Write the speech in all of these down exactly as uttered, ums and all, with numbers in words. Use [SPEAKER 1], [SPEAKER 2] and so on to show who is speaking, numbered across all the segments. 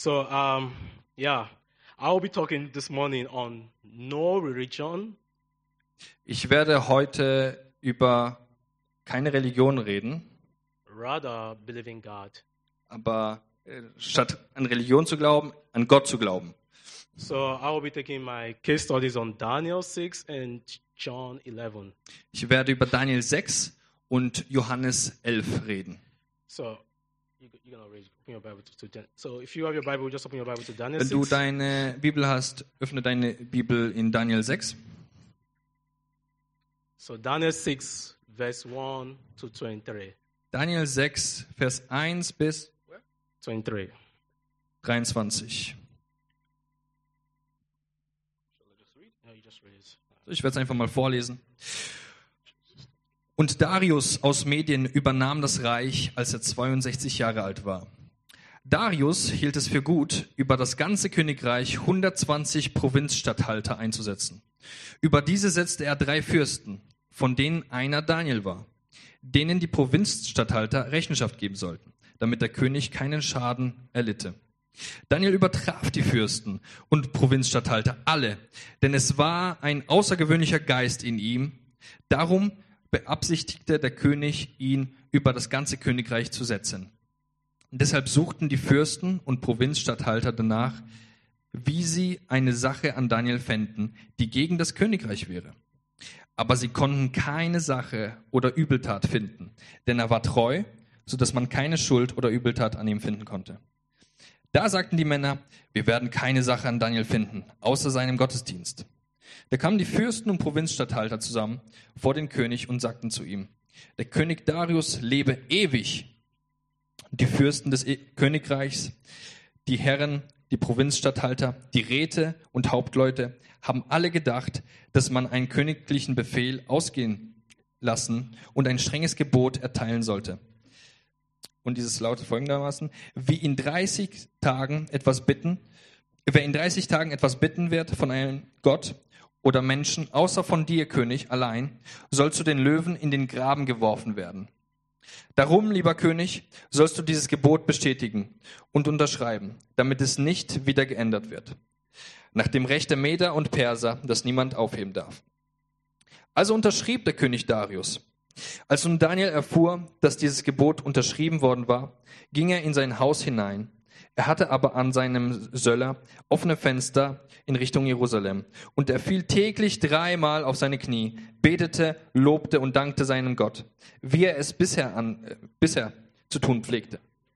[SPEAKER 1] So, um, yeah, I'll be talking this morning on no religion,
[SPEAKER 2] Ich werde heute über keine Religion reden,
[SPEAKER 1] rather believing God.
[SPEAKER 2] aber äh, statt an Religion zu glauben, an Gott zu glauben.
[SPEAKER 1] So I will be taking my case studies on Daniel six and John eleven.
[SPEAKER 2] Ich werde über Daniel sechs und Johannes elf reden.
[SPEAKER 1] So you, you're gonna read, open your Bible to, to Dan- So if you have your Bible, just open your Bible to Daniel
[SPEAKER 2] Wenn du
[SPEAKER 1] six.
[SPEAKER 2] deine Bibel hast, öffne deine Bibel in Daniel sechs.
[SPEAKER 1] So Daniel six, verse one to twenty-three.
[SPEAKER 2] Daniel sechs, Vers eins bis
[SPEAKER 1] Twenty-three.
[SPEAKER 2] dreiundzwanzig.
[SPEAKER 1] No, you just read it.
[SPEAKER 2] Ich werde es einfach mal vorlesen. Und Darius aus Medien übernahm das Reich, als er zweiundsechzig Jahre alt war. Darius hielt es für gut, über das ganze Königreich hundertzwanzig Provinzstatthalter einzusetzen. Über diese setzte er drei Fürsten, von denen einer Daniel war, denen die Provinzstatthalter Rechenschaft geben sollten, damit der König keinen Schaden erlitte. Daniel übertraf die Fürsten und Provinzstatthalter alle, denn es war ein außergewöhnlicher Geist in ihm. Darum beabsichtigte der König, ihn über das ganze Königreich zu setzen. Und deshalb suchten die Fürsten und Provinzstatthalter danach, wie sie eine Sache an Daniel fänden, die gegen das Königreich wäre. Aber sie konnten keine Sache oder Übeltat finden, denn er war treu, sodass man keine Schuld oder Übeltat an ihm finden konnte. Da sagten die Männer, wir werden keine Sache an Daniel finden, außer seinem Gottesdienst. Da kamen die Fürsten und Provinzstatthalter zusammen vor den König und sagten zu ihm, der König Darius lebe ewig. Die Fürsten des Königreichs, die Herren, die Provinzstatthalter, die Räte und Hauptleute haben alle gedacht, dass man einen königlichen Befehl ausgehen lassen und ein strenges Gebot erteilen sollte. Und dieses lautet folgendermaßen, wie in dreißig Tagen etwas bitten, wer in dreißig Tagen etwas bitten wird von einem Gott oder Menschen, außer von dir, König, allein, soll zu den Löwen in den Graben geworfen werden. Darum, lieber König, sollst du dieses Gebot bestätigen und unterschreiben, damit es nicht wieder geändert wird. Nach dem Recht der Meder und Perser, das niemand aufheben darf. Also unterschrieb der König Darius. Als nun Daniel erfuhr, dass dieses Gebot unterschrieben worden war, ging er in sein Haus hinein. Er hatte aber an seinem Söller offene Fenster in Richtung Jerusalem. Und er fiel täglich dreimal auf seine Knie, betete, lobte und dankte seinem Gott, wie er es bisher, an, äh, bisher zu tun pflegte.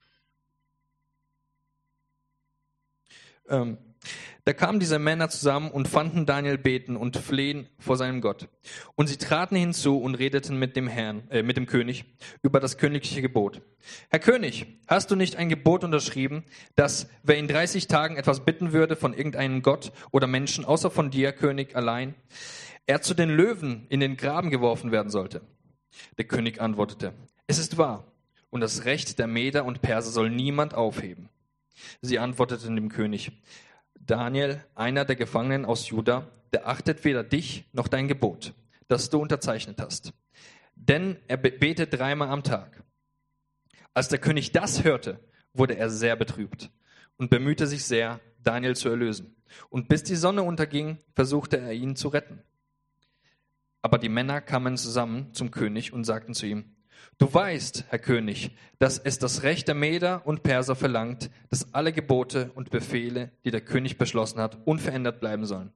[SPEAKER 2] Ähm, Da kamen diese Männer zusammen und fanden Daniel beten und flehen vor seinem Gott. Und sie traten hinzu und redeten mit dem Herrn, äh, mit dem König über das königliche Gebot. Herr König, hast du nicht ein Gebot unterschrieben, dass wer in dreißig Tagen etwas bitten würde von irgendeinem Gott oder Menschen, außer von dir, König, allein, er zu den Löwen in den Graben geworfen werden sollte? Der König antwortete, es ist wahr, und das Recht der Meder und Perser soll niemand aufheben. Sie antworteten dem König, Daniel, einer der Gefangenen aus Juda, der achtet weder dich noch dein Gebot, das du unterzeichnet hast. Denn er betet dreimal am Tag. Als der König das hörte, wurde er sehr betrübt und bemühte sich sehr, Daniel zu erlösen. Und bis die Sonne unterging, versuchte er ihn zu retten. Aber die Männer kamen zusammen zum König und sagten zu ihm, du weißt, Herr König, dass es das Recht der Meder und Perser verlangt, dass alle Gebote und Befehle, die der König beschlossen hat, unverändert bleiben sollen.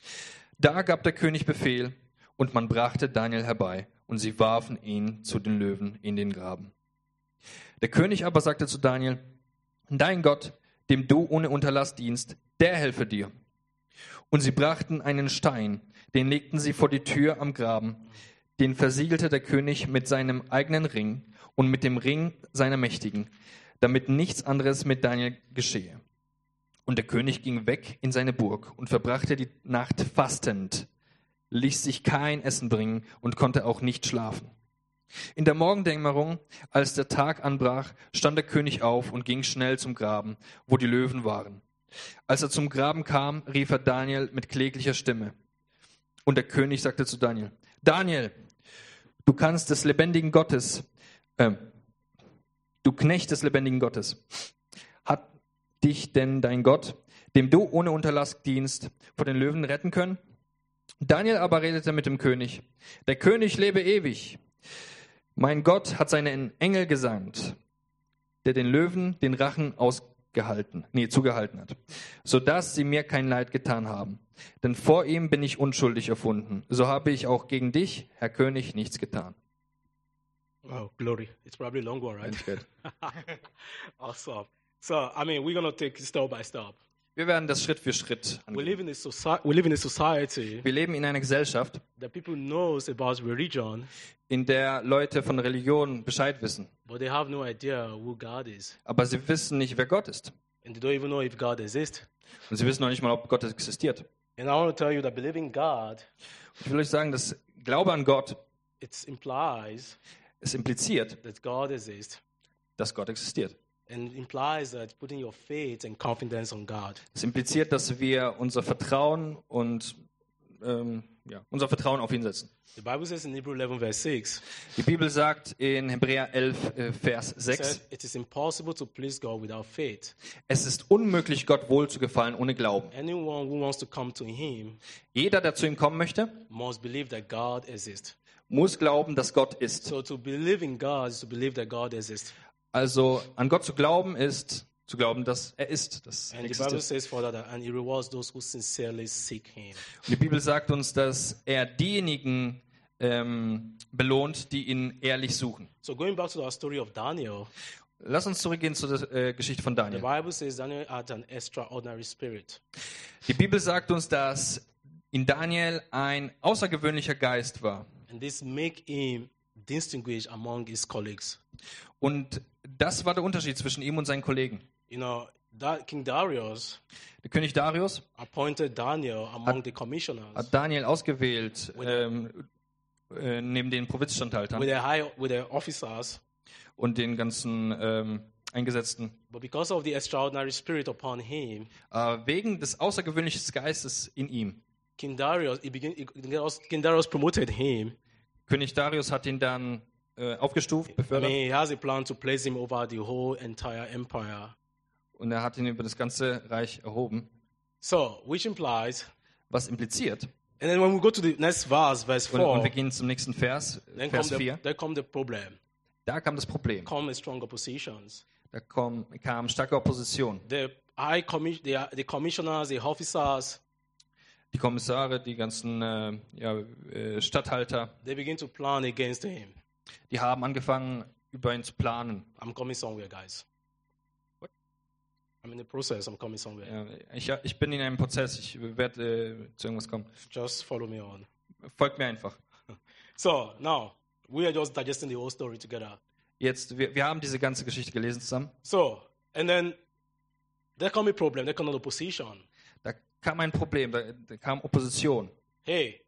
[SPEAKER 2] Da gab der König Befehl, und man brachte Daniel herbei, und sie warfen ihn zu den Löwen in den Graben. Der König aber sagte zu Daniel, dein Gott, dem du ohne Unterlass dienst, der helfe dir. Und sie brachten einen Stein, den legten sie vor die Tür am Graben, den versiegelte der König mit seinem eigenen Ring und mit dem Ring seiner Mächtigen, damit nichts anderes mit Daniel geschehe. Und der König ging weg in seine Burg und verbrachte die Nacht fastend, ließ sich kein Essen bringen und konnte auch nicht schlafen. In der Morgendämmerung, als der Tag anbrach, stand der König auf und ging schnell zum Graben, wo die Löwen waren. Als er zum Graben kam, rief er Daniel mit kläglicher Stimme. Und der König sagte zu Daniel, Daniel, du kannst des lebendigen Gottes, äh, du Knecht des lebendigen Gottes, hat, dich denn dein Gott, dem du ohne Unterlass dienst, vor den Löwen retten können? Daniel aber redete mit dem König: Der König lebe ewig. Mein Gott hat seinen Engel gesandt, der den Löwen den Rachen ausgehalten, nee, zugehalten hat, sodass sie mir kein Leid getan haben. Denn vor ihm bin ich unschuldig erfunden. So habe ich auch gegen dich, Herr König, nichts getan.
[SPEAKER 1] Oh, glory. It's probably a long one, right?
[SPEAKER 2] Ganz gut.
[SPEAKER 1] Awesome. So, I mean, we're going to take it step by step.
[SPEAKER 2] Wir werden das Schritt für Schritt
[SPEAKER 1] We
[SPEAKER 2] angehen.
[SPEAKER 1] live in a, soci- we live in a society
[SPEAKER 2] Wir leben in einer Gesellschaft,
[SPEAKER 1] that people knows about religion,
[SPEAKER 2] in der Leute von Religion Bescheid wissen.
[SPEAKER 1] but they have no idea who God is.
[SPEAKER 2] Aber sie wissen nicht, wer Gott ist.
[SPEAKER 1] And they don't even know if God exists.
[SPEAKER 2] Und sie wissen noch nicht mal, ob Gott existiert.
[SPEAKER 1] And I want to tell you that believing God,
[SPEAKER 2] Und ich will euch sagen, dass Glaube an Gott,
[SPEAKER 1] it implies
[SPEAKER 2] es impliziert,
[SPEAKER 1] that God exists.
[SPEAKER 2] dass Gott existiert.
[SPEAKER 1] And it implies that putting your faith and confidence on God.
[SPEAKER 2] Es impliziert, dass wir unser Vertrauen und ähm, ja, unser Vertrauen auf ihn setzen.
[SPEAKER 1] The Bible says in Hebrews eleven, verse six,
[SPEAKER 2] Die Bibel sagt in Hebräer elf, äh, Vers
[SPEAKER 1] it
[SPEAKER 2] sechs,
[SPEAKER 1] says, it is impossible to please God without faith.
[SPEAKER 2] es ist unmöglich, Gott wohl zu gefallen ohne Glauben.
[SPEAKER 1] Anyone who wants to come to him
[SPEAKER 2] Jeder, der zu ihm kommen möchte,
[SPEAKER 1] must believe that God exists.
[SPEAKER 2] muss glauben, dass Gott ist.
[SPEAKER 1] So to believe in God is to believe that God exists.
[SPEAKER 2] Also an Gott zu glauben ist zu glauben, dass er ist. Das
[SPEAKER 1] And the Bible
[SPEAKER 2] existiert.
[SPEAKER 1] says further that, and he rewards those who sincerely seek him.
[SPEAKER 2] Und die Bibel sagt uns, dass er diejenigen ähm, belohnt, die ihn ehrlich suchen.
[SPEAKER 1] So going back to our story of Daniel,
[SPEAKER 2] Lass uns zurückgehen zur äh, Geschichte von
[SPEAKER 1] the
[SPEAKER 2] Daniel.
[SPEAKER 1] Bible says Daniel had an extraordinary spirit.
[SPEAKER 2] Die Bibel sagt uns, dass in Daniel ein außergewöhnlicher Geist war.
[SPEAKER 1] And this make him distinguished among his colleagues.
[SPEAKER 2] Und das war der Unterschied zwischen ihm und seinen Kollegen.
[SPEAKER 1] You know, that King Darius
[SPEAKER 2] Der König Darius
[SPEAKER 1] appointed Daniel among the commissioners
[SPEAKER 2] hat Daniel ausgewählt, ähm, äh, neben den Provinzstatthaltern
[SPEAKER 1] with the high with the officers,
[SPEAKER 2] und den ganzen ähm, Eingesetzten.
[SPEAKER 1] but because of the extraordinary spirit upon him,
[SPEAKER 2] Äh, wegen des außergewöhnlichen Geistes in ihm.
[SPEAKER 1] King Darius, he begin, he, King Darius promoted him.
[SPEAKER 2] König Darius hat ihn dann äh, aufgestuft,
[SPEAKER 1] I
[SPEAKER 2] befördert,
[SPEAKER 1] mean, he has a plan to place him over the whole entire empire.
[SPEAKER 2] und er hat ihn über das ganze Reich erhoben.
[SPEAKER 1] So, which implies,
[SPEAKER 2] Was impliziert,
[SPEAKER 1] and then when we go to the next verse, verse
[SPEAKER 2] und, und
[SPEAKER 1] four,
[SPEAKER 2] wir gehen zum nächsten Vers,
[SPEAKER 1] then come
[SPEAKER 2] Vers
[SPEAKER 1] the,
[SPEAKER 2] vier,
[SPEAKER 1] there come the problem,
[SPEAKER 2] da kam das Problem.
[SPEAKER 1] come stronger positions.
[SPEAKER 2] Da kam, kam starke Opposition.
[SPEAKER 1] The high commis- the, the commissioners, the officers,
[SPEAKER 2] Die Kommissare, die ganzen äh, ja, äh, Statthalter,
[SPEAKER 1] they begin to plan against him.
[SPEAKER 2] die haben angefangen, über ihn zu planen.
[SPEAKER 1] I'm coming somewhere, guys.
[SPEAKER 2] What?
[SPEAKER 1] I'm in the process. I'm coming somewhere.
[SPEAKER 2] Ja, ich, ich bin in einem Prozess, ich werde äh, zu irgendwas kommen.
[SPEAKER 1] Just follow me on.
[SPEAKER 2] Folgt mir einfach.
[SPEAKER 1] So now we are just digesting the whole story together.
[SPEAKER 2] Jetzt, wir, wir haben diese ganze Geschichte gelesen zusammen.
[SPEAKER 1] So and then there come a problem. There come another opposition.
[SPEAKER 2] Da kam ein Problem, da, da kam Opposition.
[SPEAKER 1] Hey,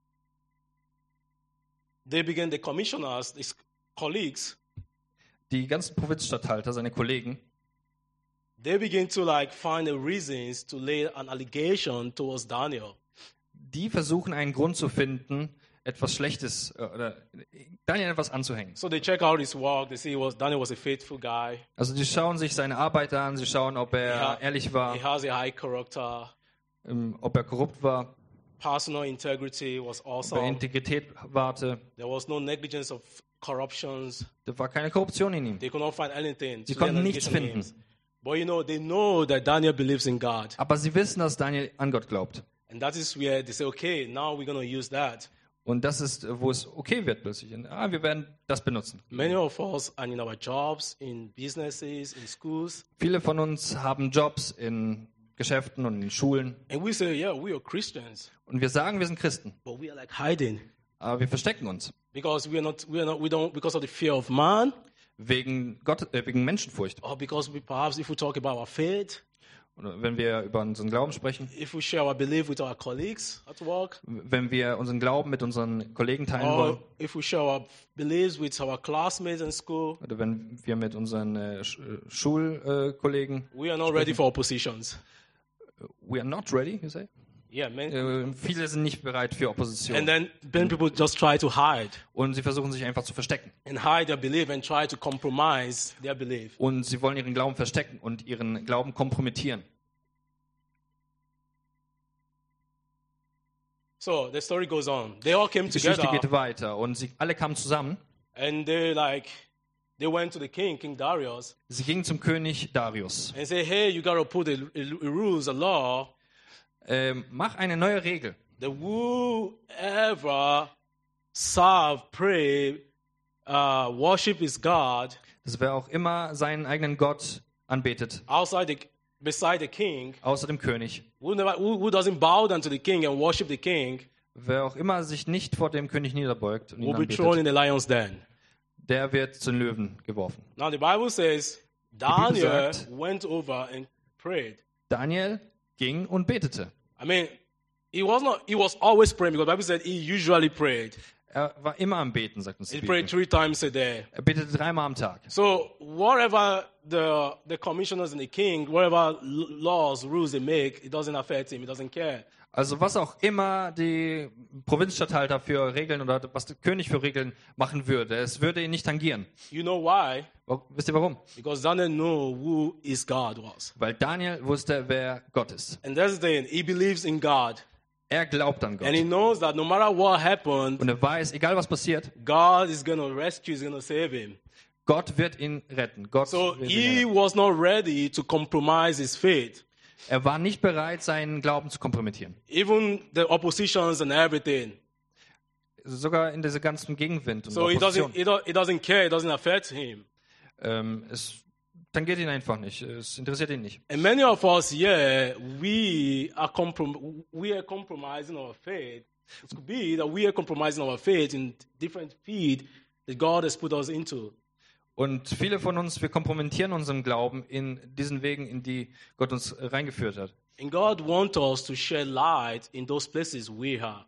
[SPEAKER 1] they begin. The commissioners, his colleagues,
[SPEAKER 2] Die ganzen Provinzstatthalter, seine Kollegen,
[SPEAKER 1] they begin to like find the reasons to lay an allegation towards Daniel.
[SPEAKER 2] die versuchen einen Grund zu finden, etwas Schlechtes äh, oder Daniel etwas anzuhängen.
[SPEAKER 1] So they check out his work. They see he was, Daniel was a faithful guy.
[SPEAKER 2] Also die schauen sich seine Arbeit an, sie schauen, ob er
[SPEAKER 1] Ja.
[SPEAKER 2] ehrlich war,
[SPEAKER 1] He has a high character.
[SPEAKER 2] ähm, ob er korrupt war,
[SPEAKER 1] Personal integrity was
[SPEAKER 2] ob er
[SPEAKER 1] awesome.
[SPEAKER 2] Integrität wahrte.
[SPEAKER 1] There was no negligence of corruptions.
[SPEAKER 2] Da war keine Korruption in ihm.
[SPEAKER 1] They could not find anything.
[SPEAKER 2] Sie
[SPEAKER 1] to lay an
[SPEAKER 2] konnten nichts
[SPEAKER 1] allegation
[SPEAKER 2] finden.
[SPEAKER 1] against. But you know, they know that Daniel believes in God.
[SPEAKER 2] Aber sie wissen, dass Daniel an Gott glaubt.
[SPEAKER 1] And that is where they say, okay, now we're going to use that.
[SPEAKER 2] Und das ist, wo es okay wird plötzlich. Ah, wir werden das benutzen.
[SPEAKER 1] Many of us are in our jobs, in businesses, in schools.
[SPEAKER 2] Viele von uns haben Jobs in Geschäften und in Schulen.
[SPEAKER 1] And we say, yeah, we are Christians.
[SPEAKER 2] Und wir sagen, wir sind Christen.
[SPEAKER 1] But we are like hiding.
[SPEAKER 2] Aber wir verstecken uns.
[SPEAKER 1] Because we are not, we are not, we don't, because of the fear of man.
[SPEAKER 2] Wegen, Gott, äh, wegen Menschenfurcht.
[SPEAKER 1] Or because we, perhaps if we talk about our faith.
[SPEAKER 2] Oder wenn wir über unseren Glauben sprechen.
[SPEAKER 1] If we share our belief with our colleagues at work.
[SPEAKER 2] Wenn wir unseren Glauben mit unseren Kollegen teilen
[SPEAKER 1] Or
[SPEAKER 2] wollen.
[SPEAKER 1] if we share our beliefs with our classmates in school.
[SPEAKER 2] Oder wenn wir mit unseren äh, Sch- äh, Schulkollegen.
[SPEAKER 1] We are not ready for oppositions.
[SPEAKER 2] We are not ready, you say?
[SPEAKER 1] Yeah, man.
[SPEAKER 2] Äh, viele sind nicht bereit für Opposition.
[SPEAKER 1] And then then people just try to hide
[SPEAKER 2] Und sie versuchen sich einfach zu verstecken.
[SPEAKER 1] and hide their belief and try to compromise their belief.
[SPEAKER 2] Und sie wollen ihren Glauben verstecken und ihren Glauben kompromittieren.
[SPEAKER 1] So the story goes on. They all came
[SPEAKER 2] Die Geschichte
[SPEAKER 1] together
[SPEAKER 2] geht weiter und sie alle kamen zusammen.
[SPEAKER 1] and they like they went to the king, King Darius,
[SPEAKER 2] Sie gingen zum König Darius.
[SPEAKER 1] and said, "Hey, you gotta put a, a, a rules, a law
[SPEAKER 2] Ähm, mach eine neue Regel.
[SPEAKER 1] that whoever serve, pray, uh, worship his God
[SPEAKER 2] Dass wer auch immer seinen eigenen Gott anbetet,
[SPEAKER 1] outside the beside the king,
[SPEAKER 2] außer dem König,
[SPEAKER 1] who, never, who, who doesn't bow down to the king and worship the king,
[SPEAKER 2] wer auch immer sich nicht vor dem König niederbeugt und ihn
[SPEAKER 1] will be thrown
[SPEAKER 2] anbetet,
[SPEAKER 1] in the lion's den."
[SPEAKER 2] der wird zu den Löwen geworfen.
[SPEAKER 1] Now the Bible says
[SPEAKER 2] Bibel
[SPEAKER 1] Daniel
[SPEAKER 2] sagt-
[SPEAKER 1] went over and prayed.
[SPEAKER 2] Daniel ging und betete.
[SPEAKER 1] I mean, he was not. He was always praying because the Bible said he usually prayed.
[SPEAKER 2] Er war immer am Beten, sagt uns die
[SPEAKER 1] He prayed
[SPEAKER 2] Bibel.
[SPEAKER 1] three times a day.
[SPEAKER 2] Er betete dreimal am Tag.
[SPEAKER 1] So whatever the the commissioners and the king, whatever l- laws, rules they make, it doesn't affect him. He doesn't care.
[SPEAKER 2] Also was auch immer die Provinzstatthalter für Regeln oder was der König für Regeln machen würde, es würde ihn nicht tangieren.
[SPEAKER 1] You know why?
[SPEAKER 2] Wa- Wisst ihr warum?
[SPEAKER 1] Because Daniel knew who his God was,
[SPEAKER 2] Weil Daniel wusste, wer Gott ist.
[SPEAKER 1] and that's the thing. He believes in God,
[SPEAKER 2] Er glaubt an
[SPEAKER 1] and he
[SPEAKER 2] Gott.
[SPEAKER 1] knows that no matter what happened,
[SPEAKER 2] Und er weiß, egal was passiert,
[SPEAKER 1] God is going to rescue. Is going to save him.
[SPEAKER 2] Gott wird ihn retten. Gott
[SPEAKER 1] So
[SPEAKER 2] wird ihn
[SPEAKER 1] he
[SPEAKER 2] retten.
[SPEAKER 1] was not ready to compromise his faith.
[SPEAKER 2] Er war nicht bereit, seinen Glauben zu kompromittieren.
[SPEAKER 1] Even the oppositions and everything.
[SPEAKER 2] Sogar in diese ganzen Gegenwind und
[SPEAKER 1] So he
[SPEAKER 2] Opposition.
[SPEAKER 1] doesn't, he, do, he doesn't care. It doesn't affect him.
[SPEAKER 2] Ähm, es tangiert ihn einfach nicht. Es interessiert ihn nicht.
[SPEAKER 1] And many of us here, we are, comprom- we are compromising our faith. It could be that we are compromising our faith in different field that God has put us into.
[SPEAKER 2] Und viele von uns, wir kompromittieren unseren Glauben in diesen Wegen, in die Gott uns reingeführt hat.
[SPEAKER 1] And God wants us to share light in those places we are.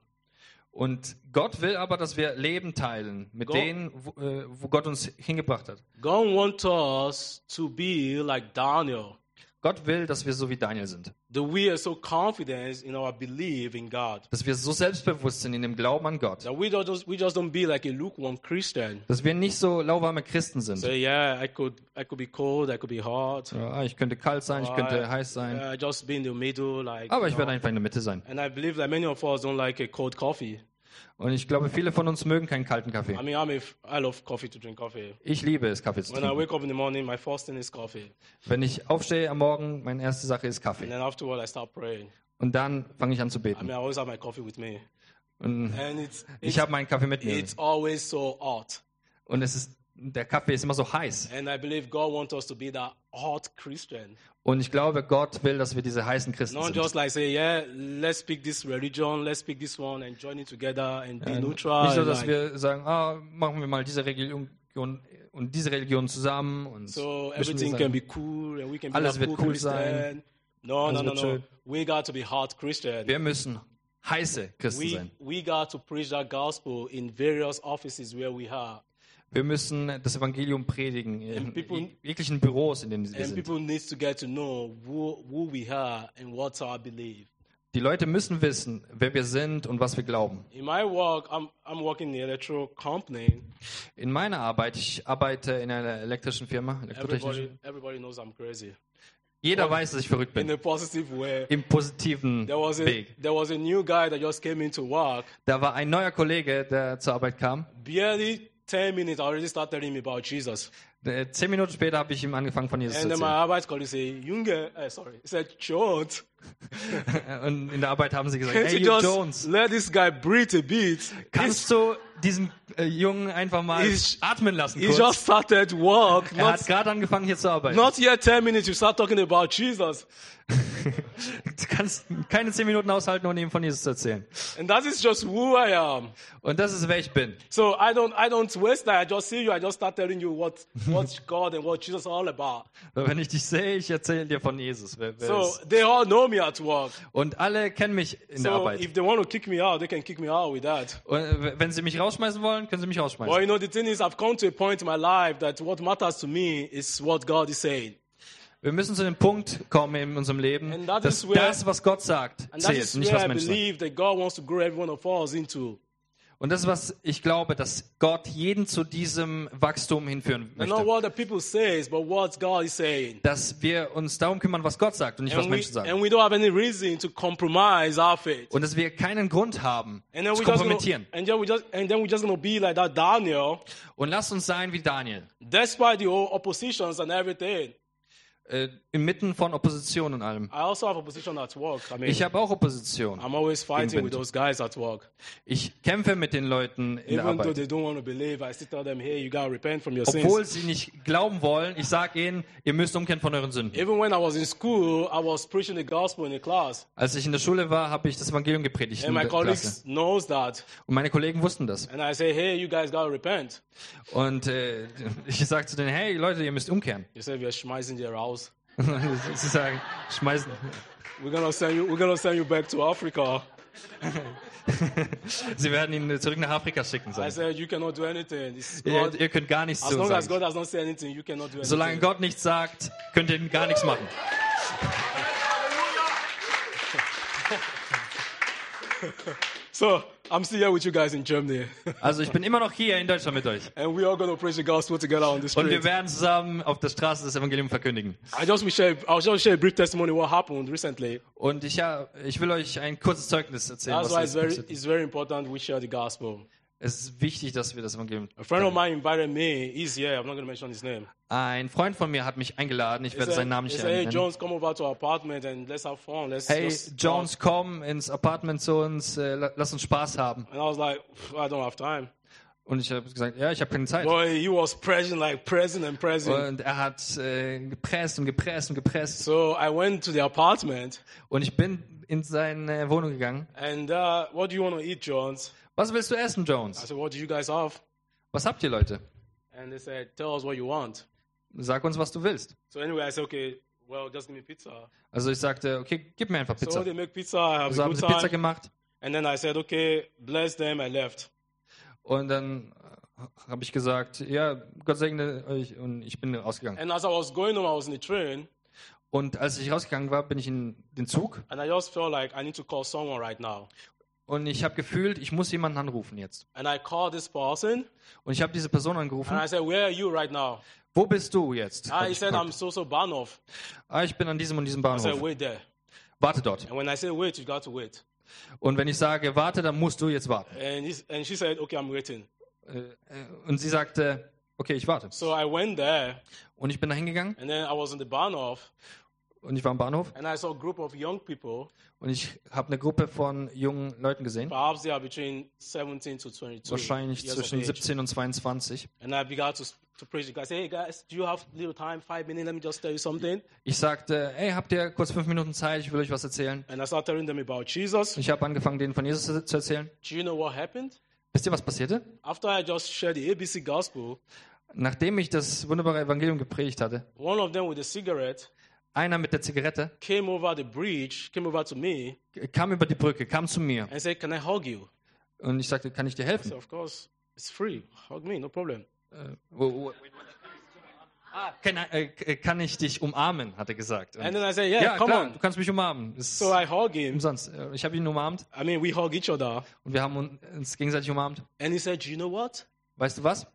[SPEAKER 2] Und Gott will aber, dass wir Leben teilen mit
[SPEAKER 1] Gott-
[SPEAKER 2] denen, wo, äh, wo Gott uns hingebracht hat.
[SPEAKER 1] God wants us to be like Daniel.
[SPEAKER 2] Gott will, dass wir so wie Daniel sind.
[SPEAKER 1] That we are so confident in our belief in God.
[SPEAKER 2] Dass wir so selbstbewusst sind in dem Glauben an Gott.
[SPEAKER 1] That we don't just, we just don't be like a lukewarm Christian.
[SPEAKER 2] Dass wir nicht so lauwarme Christen sind.
[SPEAKER 1] Say, yeah, I could, I could be cold, I could be hot.
[SPEAKER 2] Ja, ich könnte kalt sein, ich könnte heiß sein.
[SPEAKER 1] Uh, just be in the middle, like.
[SPEAKER 2] Aber
[SPEAKER 1] you
[SPEAKER 2] ich
[SPEAKER 1] know.
[SPEAKER 2] werde einfach in der Mitte sein.
[SPEAKER 1] And I believe that many of us don't like a cold coffee.
[SPEAKER 2] Und ich glaube, viele von uns mögen keinen kalten Kaffee.
[SPEAKER 1] I mean, I'm a f- I love coffee to drink coffee.
[SPEAKER 2] Ich liebe es, Kaffee zu
[SPEAKER 1] When I
[SPEAKER 2] trinken.
[SPEAKER 1] wake up in the morning, my first thing is coffee,
[SPEAKER 2] Wenn ich aufstehe am Morgen, meine erste Sache ist
[SPEAKER 1] and
[SPEAKER 2] Kaffee.
[SPEAKER 1] then afterward I start praying.
[SPEAKER 2] Und dann fange ich an zu
[SPEAKER 1] I mean,
[SPEAKER 2] beten.
[SPEAKER 1] I always have my coffee with me,
[SPEAKER 2] Und
[SPEAKER 1] and it's
[SPEAKER 2] ich
[SPEAKER 1] it's,
[SPEAKER 2] habe meinen Kaffee mit mir.
[SPEAKER 1] it's always so hot.
[SPEAKER 2] Und es ist, der Kaffee ist immer so heiß.
[SPEAKER 1] And I believe God wants us to be that hot Christian,
[SPEAKER 2] Und ich glaube, Gott will, dass wir diese heißen Christen
[SPEAKER 1] not
[SPEAKER 2] sind.
[SPEAKER 1] just like say, yeah, let's pick this religion, let's pick this one, and join it together and be
[SPEAKER 2] Äh,
[SPEAKER 1] neutral.
[SPEAKER 2] Nicht so,
[SPEAKER 1] and
[SPEAKER 2] dass
[SPEAKER 1] like-
[SPEAKER 2] wir sagen, ah, machen wir mal diese Religion und diese Religion zusammen. Und
[SPEAKER 1] So
[SPEAKER 2] mischen
[SPEAKER 1] everything
[SPEAKER 2] wir
[SPEAKER 1] can
[SPEAKER 2] sagen,
[SPEAKER 1] be cool and we can be
[SPEAKER 2] Alles
[SPEAKER 1] like
[SPEAKER 2] wird
[SPEAKER 1] cool
[SPEAKER 2] cool
[SPEAKER 1] Christian.
[SPEAKER 2] sein.
[SPEAKER 1] No, no,
[SPEAKER 2] Alles
[SPEAKER 1] no,
[SPEAKER 2] wird
[SPEAKER 1] no.
[SPEAKER 2] schön.
[SPEAKER 1] We got to be hot Christian.
[SPEAKER 2] wir müssen heiße Christen
[SPEAKER 1] We,
[SPEAKER 2] sein.
[SPEAKER 1] we got to preach that gospel in various offices where we are.
[SPEAKER 2] Wir müssen das Evangelium predigen in
[SPEAKER 1] And people-
[SPEAKER 2] jeg- jeglichen Büros, in denen wir
[SPEAKER 1] And
[SPEAKER 2] sind.
[SPEAKER 1] people need to get to know who, who we are and what's our belief.
[SPEAKER 2] Die Leute müssen wissen, wer wir sind und was wir glauben.
[SPEAKER 1] In my work, I'm, I'm working in the electrical company.
[SPEAKER 2] In meiner Arbeit, ich arbeite in einer elektrischen Firma, elektrotechnischen.
[SPEAKER 1] Everybody, everybody knows I'm crazy.
[SPEAKER 2] Jeder weiß, dass ich verrückt
[SPEAKER 1] In
[SPEAKER 2] bin.
[SPEAKER 1] a positive way.
[SPEAKER 2] Im positiven
[SPEAKER 1] There was, a,
[SPEAKER 2] Weg.
[SPEAKER 1] there was a new guy that just came into work.
[SPEAKER 2] Da war ein neuer Kollege, der zur Arbeit kam.
[SPEAKER 1] Barely ten minutes, I already started telling him about Jesus.
[SPEAKER 2] Äh, Zehn Minuten später habe ich ihm angefangen, von Jesus zu
[SPEAKER 1] And then my
[SPEAKER 2] erzählen.
[SPEAKER 1] Arbeitskolleague said, Junge, uh, sorry, he said, Jones,
[SPEAKER 2] Und in der Arbeit haben sie gesagt,
[SPEAKER 1] can't
[SPEAKER 2] hey,
[SPEAKER 1] you
[SPEAKER 2] you
[SPEAKER 1] just
[SPEAKER 2] Jones,
[SPEAKER 1] let this guy breathe a bit?
[SPEAKER 2] kannst du diesen äh, Jungen einfach mal
[SPEAKER 1] He's-
[SPEAKER 2] atmen lassen
[SPEAKER 1] He
[SPEAKER 2] kurz?
[SPEAKER 1] just started work.
[SPEAKER 2] Er
[SPEAKER 1] Not,
[SPEAKER 2] hat gerade angefangen, hier zu arbeiten.
[SPEAKER 1] not yet ten minutes, you start talking about Jesus.
[SPEAKER 2] Du kannst keine zehn Minuten aushalten, ohne ihm von Jesus zu erzählen.
[SPEAKER 1] And that is just who I am.
[SPEAKER 2] Und das ist, wer ich bin.
[SPEAKER 1] So I don't, I don't waste time. I just see you. I just start telling you what, what God and what Jesus are all about.
[SPEAKER 2] Wenn ich dich sehe, ich erzähle dir von Jesus. Wer, wer
[SPEAKER 1] So
[SPEAKER 2] ist.
[SPEAKER 1] they all know me at work.
[SPEAKER 2] Und alle kennen mich in der
[SPEAKER 1] So
[SPEAKER 2] Arbeit.
[SPEAKER 1] if they want to kick me out, they can kick me out with that.
[SPEAKER 2] Und äh, wenn sie mich rausschmeißen wollen, können sie mich
[SPEAKER 1] Well,
[SPEAKER 2] rausschmeißen.
[SPEAKER 1] you know, the thing is, I've come to a point in my life that what matters to me is what God is saying.
[SPEAKER 2] Wir müssen zu dem Punkt kommen in unserem Leben,
[SPEAKER 1] And that
[SPEAKER 2] dass
[SPEAKER 1] is where-
[SPEAKER 2] das, was Gott sagt,
[SPEAKER 1] And that
[SPEAKER 2] zählt,
[SPEAKER 1] is
[SPEAKER 2] nicht
[SPEAKER 1] where
[SPEAKER 2] was
[SPEAKER 1] I
[SPEAKER 2] Menschen sagen.
[SPEAKER 1] believe that God wants to grow every one of us into.
[SPEAKER 2] Und das ist, was ich glaube, dass Gott jeden zu diesem Wachstum hinführen
[SPEAKER 1] And not
[SPEAKER 2] möchte.
[SPEAKER 1] what the people says, but what God is saying.
[SPEAKER 2] Dass wir uns darum kümmern, was Gott sagt und nicht, was
[SPEAKER 1] And we,
[SPEAKER 2] Menschen sagen.
[SPEAKER 1] and we don't have any reason to compromise our faith.
[SPEAKER 2] Und dass wir keinen Grund haben,
[SPEAKER 1] And then
[SPEAKER 2] zu
[SPEAKER 1] we just gonna,
[SPEAKER 2] kompromittieren.
[SPEAKER 1] and then we just and then we're just gonna be like that Daniel,
[SPEAKER 2] Und lasst uns sein wie Daniel.
[SPEAKER 1] despite the whole oppositions and everything.
[SPEAKER 2] Äh, inmitten von Opposition und allem.
[SPEAKER 1] I also have opposition at work. I mean,
[SPEAKER 2] Ich habe auch Opposition.
[SPEAKER 1] I'm always fighting
[SPEAKER 2] Gegen
[SPEAKER 1] with
[SPEAKER 2] Wind.
[SPEAKER 1] those guys at work.
[SPEAKER 2] Ich kämpfe mit den Leuten in der
[SPEAKER 1] Even though
[SPEAKER 2] Arbeit.
[SPEAKER 1] they don't want to believe, I still tell them, hey, you gotta repent from your sins.
[SPEAKER 2] Obwohl sie nicht glauben wollen, ich sage ihnen, ihr müsst umkehren von euren Sünden.
[SPEAKER 1] Even when I was in school, I was preaching the gospel in the class.
[SPEAKER 2] Als ich in der Schule war, habe ich das Evangelium gepredigt in
[SPEAKER 1] And my
[SPEAKER 2] der
[SPEAKER 1] colleagues
[SPEAKER 2] Klasse.
[SPEAKER 1] knows that.
[SPEAKER 2] Und meine Kollegen wussten das.
[SPEAKER 1] And I say, hey, you guys gotta repent.
[SPEAKER 2] Und äh, ich sage zu denen, hey Leute, ihr müsst umkehren.
[SPEAKER 1] You say, we're schmeißen dir raus.
[SPEAKER 2] Sie sagen, schmeißen.
[SPEAKER 1] We're gonna send you, we're gonna send you back to Africa.
[SPEAKER 2] Sie werden ihn zurück nach Afrika schicken.
[SPEAKER 1] I
[SPEAKER 2] Sagen.
[SPEAKER 1] said, you cannot do anything. It's
[SPEAKER 2] Ihr,
[SPEAKER 1] God.
[SPEAKER 2] ihr könnt gar nichts
[SPEAKER 1] As
[SPEAKER 2] tun.
[SPEAKER 1] long as
[SPEAKER 2] Sagen.
[SPEAKER 1] God has not said anything, you cannot do anything.
[SPEAKER 2] Solange Gott nichts sagt, könnt ihr gar nichts machen.
[SPEAKER 1] So, I'm still here with you guys in Germany.
[SPEAKER 2] Also ich bin immer noch hier in Deutschland mit euch.
[SPEAKER 1] And we are going to preach the gospel together on the
[SPEAKER 2] Und wir
[SPEAKER 1] street.
[SPEAKER 2] werden zusammen auf der Straße das Evangelium verkündigen.
[SPEAKER 1] I just will share, I'll just share a brief testimony what happened recently.
[SPEAKER 2] Und ich, ja, ich will euch ein kurzes Zeugnis erzählen.
[SPEAKER 1] That's
[SPEAKER 2] Was
[SPEAKER 1] why
[SPEAKER 2] jetzt
[SPEAKER 1] it's very,
[SPEAKER 2] passiert.
[SPEAKER 1] it's very important we share the gospel.
[SPEAKER 2] Es ist wichtig, dass wir das Evangelium.
[SPEAKER 1] A friend of mine invited me. He's here. I'm not going to mention his name.
[SPEAKER 2] Ein Freund von mir hat mich eingeladen. Ich
[SPEAKER 1] He
[SPEAKER 2] werde
[SPEAKER 1] said,
[SPEAKER 2] seinen Namen
[SPEAKER 1] he
[SPEAKER 2] nicht
[SPEAKER 1] said, hey,
[SPEAKER 2] nennen.
[SPEAKER 1] Jones, come over to our apartment and let's have fun. Let's,
[SPEAKER 2] Hey,
[SPEAKER 1] let's
[SPEAKER 2] Jones, komm ins Apartment zu uns. Äh, la- lass uns Spaß haben.
[SPEAKER 1] And I was like, I don't have time.
[SPEAKER 2] Und ich habe gesagt, ja, ich habe keine Zeit.
[SPEAKER 1] Boy, he was pressing, like pressing and pressing.
[SPEAKER 2] Und er hat äh, gepresst und gepresst und gepresst.
[SPEAKER 1] So I went to the apartment.
[SPEAKER 2] Und ich bin in seine Wohnung gegangen.
[SPEAKER 1] And uh, what do you want to eat, Jones?
[SPEAKER 2] Was willst du essen,
[SPEAKER 1] I
[SPEAKER 2] Jones?
[SPEAKER 1] said, what do you guys have?
[SPEAKER 2] Was habt ihr, Leute?
[SPEAKER 1] And they said, tell us what you want.
[SPEAKER 2] Sag uns, was du willst.
[SPEAKER 1] So anyway, I said, okay, well, just give me pizza.
[SPEAKER 2] Also ich sagte, okay, gib mir einfach
[SPEAKER 1] So
[SPEAKER 2] Pizza.
[SPEAKER 1] they make pizza, I have
[SPEAKER 2] So
[SPEAKER 1] a
[SPEAKER 2] haben
[SPEAKER 1] good
[SPEAKER 2] sie Pizza
[SPEAKER 1] time.
[SPEAKER 2] gemacht.
[SPEAKER 1] And then I said, okay, bless them, I left.
[SPEAKER 2] Und dann habe ich gesagt, ja, Gott segne euch. Und ich bin rausgegangen.
[SPEAKER 1] And as I was going home, I was in the train,
[SPEAKER 2] Und als ich rausgegangen war, bin ich in den Zug.
[SPEAKER 1] and I just felt like I need to call someone right now.
[SPEAKER 2] Und ich habe gefühlt, ich muss jemanden anrufen jetzt.
[SPEAKER 1] And I called this person,
[SPEAKER 2] Und ich habe diese Person
[SPEAKER 1] and
[SPEAKER 2] angerufen.
[SPEAKER 1] I said, where are you right now?
[SPEAKER 2] Wo bist du jetzt?
[SPEAKER 1] Ah,
[SPEAKER 2] Hab
[SPEAKER 1] he
[SPEAKER 2] ich
[SPEAKER 1] said,
[SPEAKER 2] gefragt.
[SPEAKER 1] I'm so-so Bahnhof.
[SPEAKER 2] Ah, ich bin an diesem und diesem
[SPEAKER 1] I said,
[SPEAKER 2] Bahnhof.
[SPEAKER 1] wait there.
[SPEAKER 2] Warte dort.
[SPEAKER 1] And when I say wait, you got to wait.
[SPEAKER 2] Und wenn ich sage, warte, dann musst du jetzt warten.
[SPEAKER 1] And, he, and she said, okay, I'm waiting.
[SPEAKER 2] Äh, äh, Und sie sagte, okay, ich warte.
[SPEAKER 1] So I went there,
[SPEAKER 2] Und ich bin da hingegangen
[SPEAKER 1] and then I was in the Bahnhof,
[SPEAKER 2] und ich war am Bahnhof
[SPEAKER 1] and I saw a group of young people.
[SPEAKER 2] und ich habe eine Gruppe von jungen Leuten gesehen,
[SPEAKER 1] Perhaps they are between seventeen to twenty-two
[SPEAKER 2] wahrscheinlich
[SPEAKER 1] years
[SPEAKER 2] zwischen
[SPEAKER 1] of age.
[SPEAKER 2] siebzehn und zweiundzwanzig.
[SPEAKER 1] And I began to, to preach. The guy said, hey guys, do you have little time, five minutes? Let me just tell you something.
[SPEAKER 2] Ich sagte, hey, habt ihr kurz fünf Minuten Zeit? Ich will euch was erzählen.
[SPEAKER 1] And I started telling them about Jesus.
[SPEAKER 2] Ich habe angefangen, denen von Jesus zu- zu erzählen.
[SPEAKER 1] Do you know what happened?
[SPEAKER 2] Wisst ihr, was passierte?
[SPEAKER 1] After I just shared the A B C gospel,
[SPEAKER 2] Nachdem ich das wunderbare Evangelium gepredigt hatte,
[SPEAKER 1] one of them with a cigarette
[SPEAKER 2] einer mit der Zigarette
[SPEAKER 1] came over the bridge, came over to me,
[SPEAKER 2] kam über die Brücke, kam zu mir
[SPEAKER 1] and said, can I hug you?
[SPEAKER 2] und ich sagte, kann ich dir
[SPEAKER 1] I
[SPEAKER 2] helfen?
[SPEAKER 1] said, of course, it's free. Hug me, no problem.
[SPEAKER 2] Äh, wo- wo- Ah, kann, äh, kann ich dich umarmen, hat er gesagt. Und
[SPEAKER 1] And then I said, yeah,
[SPEAKER 2] ja,
[SPEAKER 1] come
[SPEAKER 2] klar,
[SPEAKER 1] on.
[SPEAKER 2] du kannst mich umarmen. Ist
[SPEAKER 1] So I hug him.
[SPEAKER 2] umsonst. Äh, Ich habe ihn umarmt
[SPEAKER 1] I mean, we hug each other.
[SPEAKER 2] und wir haben un- uns gegenseitig umarmt.
[SPEAKER 1] And he said, do you know what?
[SPEAKER 2] Weißt du was?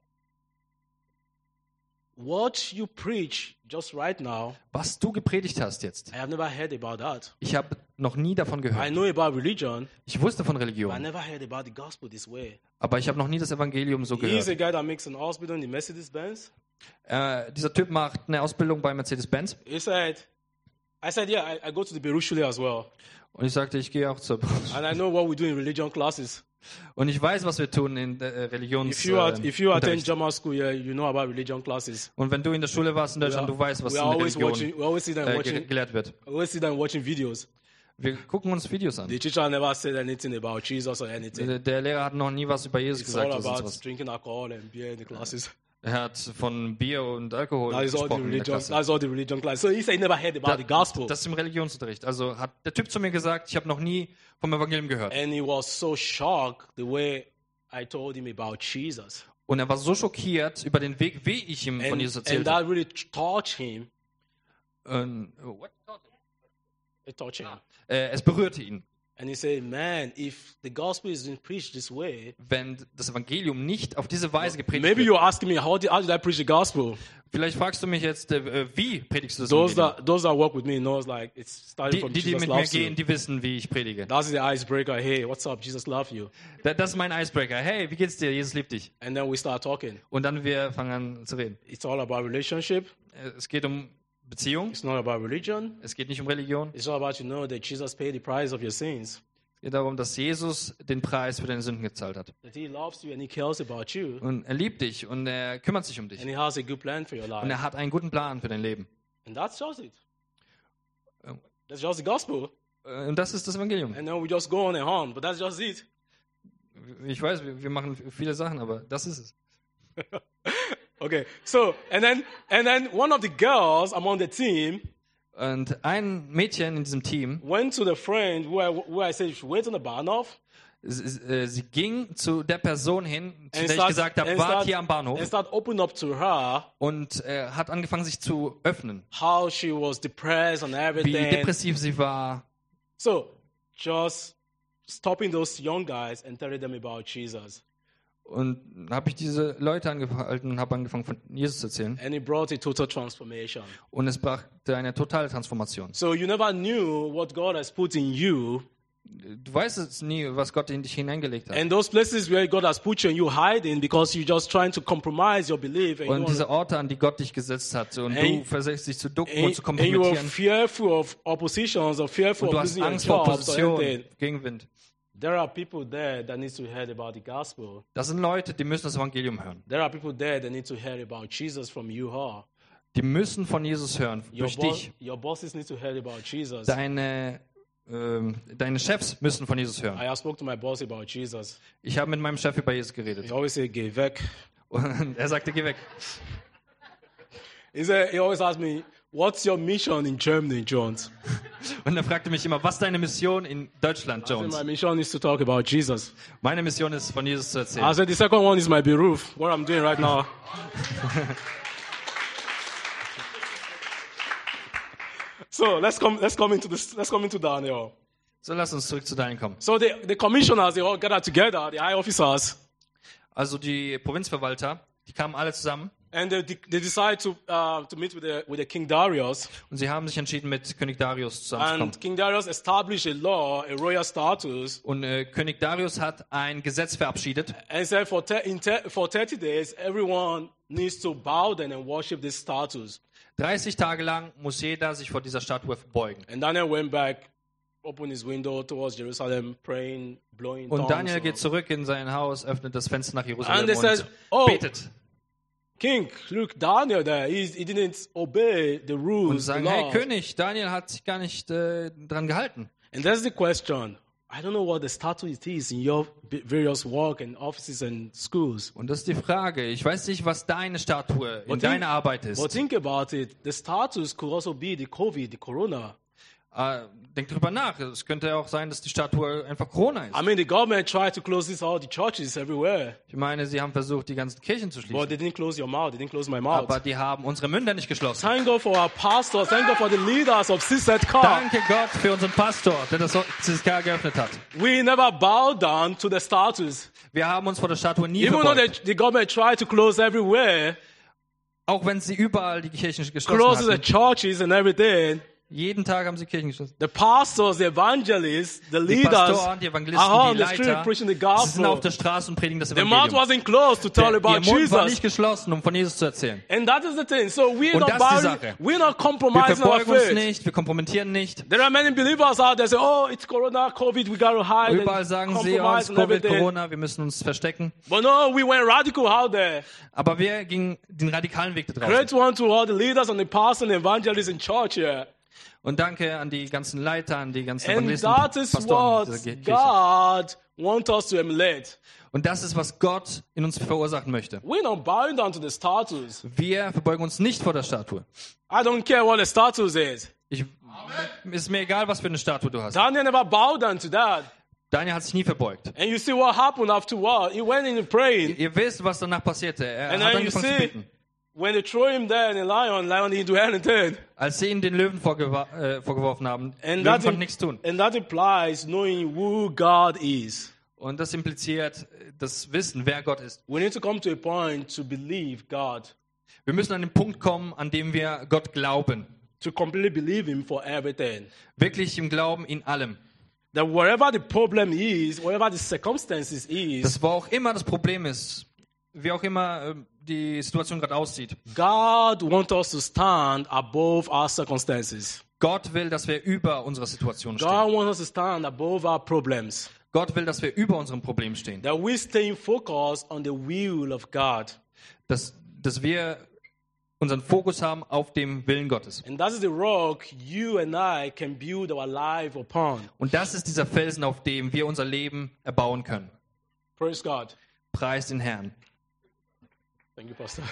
[SPEAKER 1] What you preach just right now,
[SPEAKER 2] Was du gepredigt hast jetzt,
[SPEAKER 1] I have never heard about that.
[SPEAKER 2] ich habe noch nie davon
[SPEAKER 1] I
[SPEAKER 2] gehört.
[SPEAKER 1] know about religion,
[SPEAKER 2] Ich wusste von
[SPEAKER 1] but I
[SPEAKER 2] Religion,
[SPEAKER 1] never heard about the gospel this way.
[SPEAKER 2] aber ich habe noch nie das Evangelium so
[SPEAKER 1] He's a
[SPEAKER 2] gehört.
[SPEAKER 1] guy that makes an hospital in the Mercedes-Benz.
[SPEAKER 2] Äh, dieser Typ macht eine Ausbildung bei Mercedes-Benz
[SPEAKER 1] He said, I said, yeah, I, I go to the Beirut Shule as well.
[SPEAKER 2] und ich sagte, ich gehe auch zur
[SPEAKER 1] And I know what we do in religion classes.
[SPEAKER 2] und ich weiß, was wir tun in äh, Religions
[SPEAKER 1] If you, are,
[SPEAKER 2] äh,
[SPEAKER 1] if you attend
[SPEAKER 2] Unterricht.
[SPEAKER 1] German school, yeah, you know about religion classes.
[SPEAKER 2] Und wenn du in der Schule warst in Deutschland, du weißt, was
[SPEAKER 1] we
[SPEAKER 2] in
[SPEAKER 1] are
[SPEAKER 2] der
[SPEAKER 1] always
[SPEAKER 2] Religion
[SPEAKER 1] watching, we always see them
[SPEAKER 2] äh, ge
[SPEAKER 1] watching,
[SPEAKER 2] gelehrt wird.
[SPEAKER 1] always see them watching videos.
[SPEAKER 2] Wir gucken uns Videos an.
[SPEAKER 1] The teacher never said anything about Jesus or anything.
[SPEAKER 2] Der, der Lehrer hat noch nie was über Jesus
[SPEAKER 1] It's all
[SPEAKER 2] gesagt oder sonst
[SPEAKER 1] about
[SPEAKER 2] was.
[SPEAKER 1] drinking alcohol and beer in the classes.
[SPEAKER 2] Er hat von Bier und Alkohol
[SPEAKER 1] That is all the
[SPEAKER 2] gesprochen in der
[SPEAKER 1] religion.
[SPEAKER 2] Klasse.
[SPEAKER 1] That's all the religion class. So he said he never heard about the
[SPEAKER 2] Da,
[SPEAKER 1] gospel,
[SPEAKER 2] das ist im Religionsunterricht. Also hat der Typ zu mir gesagt, ich habe noch nie vom Evangelium gehört.
[SPEAKER 1] and he was so shocked the way I told him about Jesus,
[SPEAKER 2] Und er war so schockiert über den Weg, wie ich ihm von
[SPEAKER 1] and,
[SPEAKER 2] Jesus
[SPEAKER 1] and
[SPEAKER 2] erzählt
[SPEAKER 1] that
[SPEAKER 2] habe.
[SPEAKER 1] really touched him.
[SPEAKER 2] Und, oh, what?
[SPEAKER 1] It touched him.
[SPEAKER 2] Äh, es berührte ihn.
[SPEAKER 1] And he said, man, if the gospel is being preached this way,
[SPEAKER 2] Wenn das Evangelium nicht auf diese Weise gepredigt
[SPEAKER 1] maybe
[SPEAKER 2] wird.
[SPEAKER 1] you're asking me, how did, how did I preach the gospel?
[SPEAKER 2] Vielleicht fragst du mich jetzt, äh, wie predigst du das
[SPEAKER 1] Those
[SPEAKER 2] Evangelium?
[SPEAKER 1] that, those that work with me knows like it's starting
[SPEAKER 2] Die,
[SPEAKER 1] from
[SPEAKER 2] die, die
[SPEAKER 1] Jesus
[SPEAKER 2] mit mir
[SPEAKER 1] loves
[SPEAKER 2] gehen,
[SPEAKER 1] you.
[SPEAKER 2] die wissen, wie ich predige.
[SPEAKER 1] That's the icebreaker. Hey, what's up? Jesus loves you.
[SPEAKER 2] Da- Das ist mein Icebreaker. Hey, wie geht's dir? Jesus liebt dich.
[SPEAKER 1] And then we start talking.
[SPEAKER 2] Und dann wir fangen an zu reden.
[SPEAKER 1] It's all about relationship.
[SPEAKER 2] Äh, Es geht um Beziehung.
[SPEAKER 1] It's not about religion.
[SPEAKER 2] Es geht nicht um Religion.
[SPEAKER 1] It's all about you know that Jesus paid the price of your sins.
[SPEAKER 2] Es geht darum, dass Jesus den Preis für deine Sünden gezahlt hat.
[SPEAKER 1] That he loves you and he cares about you.
[SPEAKER 2] Und er liebt dich und er kümmert sich um dich.
[SPEAKER 1] And he has a good plan for your
[SPEAKER 2] Und
[SPEAKER 1] life.
[SPEAKER 2] er hat einen guten Plan für dein Leben.
[SPEAKER 1] And that's just it.
[SPEAKER 2] Oh.
[SPEAKER 1] That's just the gospel.
[SPEAKER 2] Äh, Und das ist das Evangelium.
[SPEAKER 1] And then we just go on and on. But that's just it.
[SPEAKER 2] Ich weiß, wir wir machen viele Sachen, aber das ist es.
[SPEAKER 1] Okay. So, and then, and then one of the girls among the team
[SPEAKER 2] Und ein Mädchen in diesem Team,
[SPEAKER 1] went to the friend who I, who I said you should wait on the Bahnhof.
[SPEAKER 2] sie, äh, sie ging zu der Person hin, zu
[SPEAKER 1] And
[SPEAKER 2] der ich
[SPEAKER 1] start-
[SPEAKER 2] gesagt habe,
[SPEAKER 1] and
[SPEAKER 2] wart
[SPEAKER 1] start-
[SPEAKER 2] hier am Bahnhof.
[SPEAKER 1] And start opening up to her
[SPEAKER 2] Und äh, hat angefangen, sich zu öffnen.
[SPEAKER 1] how she was depressed and
[SPEAKER 2] Wie
[SPEAKER 1] everything.
[SPEAKER 2] depressiv sie war.
[SPEAKER 1] So, just stopping those young guys and telling them about Jesus.
[SPEAKER 2] Und habe ich diese Leute angehalten und habe angefangen, von Jesus zu erzählen.
[SPEAKER 1] And it brought a total transformation.
[SPEAKER 2] Und es brachte eine totale Transformation.
[SPEAKER 1] So you never knew what God has put in you.
[SPEAKER 2] Du weißt es nie, was Gott in dich hineingelegt hat.
[SPEAKER 1] And those places where God has put you and you hiding because you're just trying to compromise your belief. And,
[SPEAKER 2] Und
[SPEAKER 1] you,
[SPEAKER 2] diese Orte, an die Gott dich gesetzt hat. Und
[SPEAKER 1] And-
[SPEAKER 2] du versuchst dich zu ducken und zu
[SPEAKER 1] and, and you are
[SPEAKER 2] kompromittieren.
[SPEAKER 1] fearful of oppositions or fearful
[SPEAKER 2] Und du
[SPEAKER 1] of
[SPEAKER 2] hast
[SPEAKER 1] losing your
[SPEAKER 2] Angst vor
[SPEAKER 1] jobs or
[SPEAKER 2] Opposition,
[SPEAKER 1] anything.
[SPEAKER 2] Gegenwind.
[SPEAKER 1] There are people there that need to hear about the gospel.
[SPEAKER 2] Das sind Leute, die müssen das Evangelium hören.
[SPEAKER 1] There are people there that need to hear about Jesus from you. Huh?
[SPEAKER 2] Die müssen von Jesus hören,
[SPEAKER 1] Your,
[SPEAKER 2] durch
[SPEAKER 1] bo-
[SPEAKER 2] dich.
[SPEAKER 1] your bosses need to hear about Jesus.
[SPEAKER 2] Deine, ähm, deine Chefs müssen von Jesus hören.
[SPEAKER 1] I have spoke to my boss about Jesus.
[SPEAKER 2] Ich habe mit meinem Chef über Jesus geredet.
[SPEAKER 1] He always say, "Geh weg."
[SPEAKER 2] Und er sagte, geh weg.
[SPEAKER 1] He said, he always asks me, "What's your mission in Germany, Jones?"
[SPEAKER 2] Und er fragte mich immer, was ist deine Mission in Deutschland,
[SPEAKER 1] I said,
[SPEAKER 2] Jones?
[SPEAKER 1] my mission is to talk about Jesus.
[SPEAKER 2] Meine Mission ist, von Jesus zu
[SPEAKER 1] I
[SPEAKER 2] erzählen.
[SPEAKER 1] said, the second one is my Beruf, what I'm doing right now. So let's come, let's come into this, let's come into Daniel.
[SPEAKER 2] So, lass uns zurück zu Daniel kommen.
[SPEAKER 1] So the, the commissioners, they all gathered together, the high officers,
[SPEAKER 2] Also die Provinzverwalter, die kamen alle zusammen
[SPEAKER 1] and they, they decided to, uh, to meet with the, with the King Darius.
[SPEAKER 2] und sie haben sich entschieden, mit König Darius zusammenzukommen.
[SPEAKER 1] And King Darius established a law, a royal status,
[SPEAKER 2] Und äh, König Darius hat ein Gesetz verabschiedet.
[SPEAKER 1] and said for, te- in te- for thirty days, everyone needs to bow down and worship this status.
[SPEAKER 2] dreißig Tage lang muss jeder sich vor dieser Statue verbeugen.
[SPEAKER 1] And Daniel went back, opened his window towards Jerusalem, praying, blowing
[SPEAKER 2] Und
[SPEAKER 1] tongues.
[SPEAKER 2] Daniel geht zurück in sein Haus, öffnet das Fenster nach Jerusalem
[SPEAKER 1] And they
[SPEAKER 2] und
[SPEAKER 1] said, "Oh,
[SPEAKER 2] betet.
[SPEAKER 1] King, look, Daniel there, he, he didn't obey the
[SPEAKER 2] Und
[SPEAKER 1] rules, the
[SPEAKER 2] sagen, hey
[SPEAKER 1] laws."
[SPEAKER 2] König, Daniel hat sich gar nicht äh, dran gehalten.
[SPEAKER 1] And that's the question. I don't know what the status is in your b- various work and offices and schools.
[SPEAKER 2] Und das ist die Frage. Ich weiß nicht, was deine Statue in
[SPEAKER 1] But
[SPEAKER 2] deiner
[SPEAKER 1] think-
[SPEAKER 2] Arbeit ist.
[SPEAKER 1] But think about it. The status could also be the COVID, the corona.
[SPEAKER 2] Äh, denk drüber nach. Es könnte auch sein, dass die Statue einfach Corona ist.
[SPEAKER 1] I mean, the government tried to close this all the churches everywhere,
[SPEAKER 2] Ich meine, sie haben versucht, die ganzen Kirchen zu
[SPEAKER 1] but
[SPEAKER 2] schließen.
[SPEAKER 1] they didn't close your mouth. They didn't close my mouth.
[SPEAKER 2] Aber die haben unsere Münder nicht geschlossen.
[SPEAKER 1] Thank God for our pastors. Thank God for the leaders of C Z K.
[SPEAKER 2] Danke Gott für unseren Pastor, der das C S K geöffnet hat.
[SPEAKER 1] We never bow down to the status.
[SPEAKER 2] Wir haben uns vor der Statue nie
[SPEAKER 1] Even though
[SPEAKER 2] verbeugt.
[SPEAKER 1] the, the government tried to close everywhere,
[SPEAKER 2] Auch wenn sie überall die Kirchen geschlossen
[SPEAKER 1] closes the
[SPEAKER 2] hatten.
[SPEAKER 1] churches and everything,
[SPEAKER 2] Jeden Tag haben sie Kirchen geschlossen.
[SPEAKER 1] the pastors, the evangelists, the
[SPEAKER 2] Die
[SPEAKER 1] leaders
[SPEAKER 2] Pastoren, die
[SPEAKER 1] are
[SPEAKER 2] Evangelisten,
[SPEAKER 1] on
[SPEAKER 2] die
[SPEAKER 1] the street
[SPEAKER 2] Leiter,
[SPEAKER 1] preaching the
[SPEAKER 2] sie sind auf
[SPEAKER 1] gospel.
[SPEAKER 2] der Straße und predigen das
[SPEAKER 1] The mouth
[SPEAKER 2] Evangelium.
[SPEAKER 1] wasn't closed to tell
[SPEAKER 2] Der,
[SPEAKER 1] about
[SPEAKER 2] ihr Mund war
[SPEAKER 1] Jesus.
[SPEAKER 2] nicht geschlossen, um von Jesus zu erzählen.
[SPEAKER 1] And that is the thing. So we're
[SPEAKER 2] Und
[SPEAKER 1] not
[SPEAKER 2] das ist die
[SPEAKER 1] bowing,
[SPEAKER 2] Sache.
[SPEAKER 1] we're not
[SPEAKER 2] Wir
[SPEAKER 1] compromising our
[SPEAKER 2] verbeugen uns
[SPEAKER 1] faith.
[SPEAKER 2] nicht, wir kompromittieren nicht.
[SPEAKER 1] There are many believers out there say, "Oh, it's Corona, COVID, we gotta hide
[SPEAKER 2] Überall
[SPEAKER 1] and
[SPEAKER 2] sagen sie, oh, es
[SPEAKER 1] compromise
[SPEAKER 2] ist
[SPEAKER 1] and
[SPEAKER 2] Covid,
[SPEAKER 1] everything."
[SPEAKER 2] Corona, wir müssen uns verstecken.
[SPEAKER 1] But no, we went radical out there.
[SPEAKER 2] Aber wir gingen den radikalen Weg da draußen.
[SPEAKER 1] Great one to all the leaders and the pastors and evangelists in church here.
[SPEAKER 2] Und danke an die ganzen Leiter, an die ganzen
[SPEAKER 1] And
[SPEAKER 2] Evangelisten,
[SPEAKER 1] that is
[SPEAKER 2] Pastoren
[SPEAKER 1] what
[SPEAKER 2] dieser Kirche.
[SPEAKER 1] God wants us to emulate.
[SPEAKER 2] Und das ist, was Gott in uns verursachen möchte.
[SPEAKER 1] We're not bowing down to the status.
[SPEAKER 2] Wir verbeugen uns nicht vor der Statue.
[SPEAKER 1] I don't care what the status is.
[SPEAKER 2] Ich, ist mir egal, was für eine Statue du hast.
[SPEAKER 1] Daniel never bowed down to that.
[SPEAKER 2] Daniel hat sich nie verbeugt.
[SPEAKER 1] And you see what happened afterward. He went in praying.
[SPEAKER 2] Ihr wisst, was danach passierte. Er
[SPEAKER 1] And
[SPEAKER 2] hat
[SPEAKER 1] then you
[SPEAKER 2] angefangen zu
[SPEAKER 1] see,
[SPEAKER 2] beten.
[SPEAKER 1] when they throw him there in the lion, lion didn't do anything.
[SPEAKER 2] Als sie ihm den Löwen vorgewa- äh, vorgeworfen haben,
[SPEAKER 1] And
[SPEAKER 2] Löwen
[SPEAKER 1] that,
[SPEAKER 2] konnten nichts tun.
[SPEAKER 1] and that implies knowing who God is.
[SPEAKER 2] Und das impliziert das Wissen, wer Gott ist.
[SPEAKER 1] We need to come to a point to believe God,
[SPEAKER 2] Wir müssen an den Punkt kommen, an dem wir Gott glauben.
[SPEAKER 1] to completely believe Him for everything.
[SPEAKER 2] Wirklich im Glauben in allem.
[SPEAKER 1] That wherever the problem is, wherever the circumstances is,
[SPEAKER 2] Das, wo auch immer das Problem ist, wie auch immer äh, die Situation gerade aussieht.
[SPEAKER 1] God wants us to stand above our circumstances.
[SPEAKER 2] Gott will, dass wir über unserer Situation stehen.
[SPEAKER 1] God wants us to stand above our problems.
[SPEAKER 2] Gott will, dass wir über unserem Problem stehen.
[SPEAKER 1] That we stay focused on the will of God.
[SPEAKER 2] Dass, dass wir unseren Fokus haben auf dem Willen Gottes.
[SPEAKER 1] And that is the rock you and I can build our life upon.
[SPEAKER 2] Und das ist dieser Felsen, auf dem wir unser Leben erbauen können.
[SPEAKER 1] Praise God.
[SPEAKER 2] Preis den Herrn.
[SPEAKER 1] Thank you, Pastor.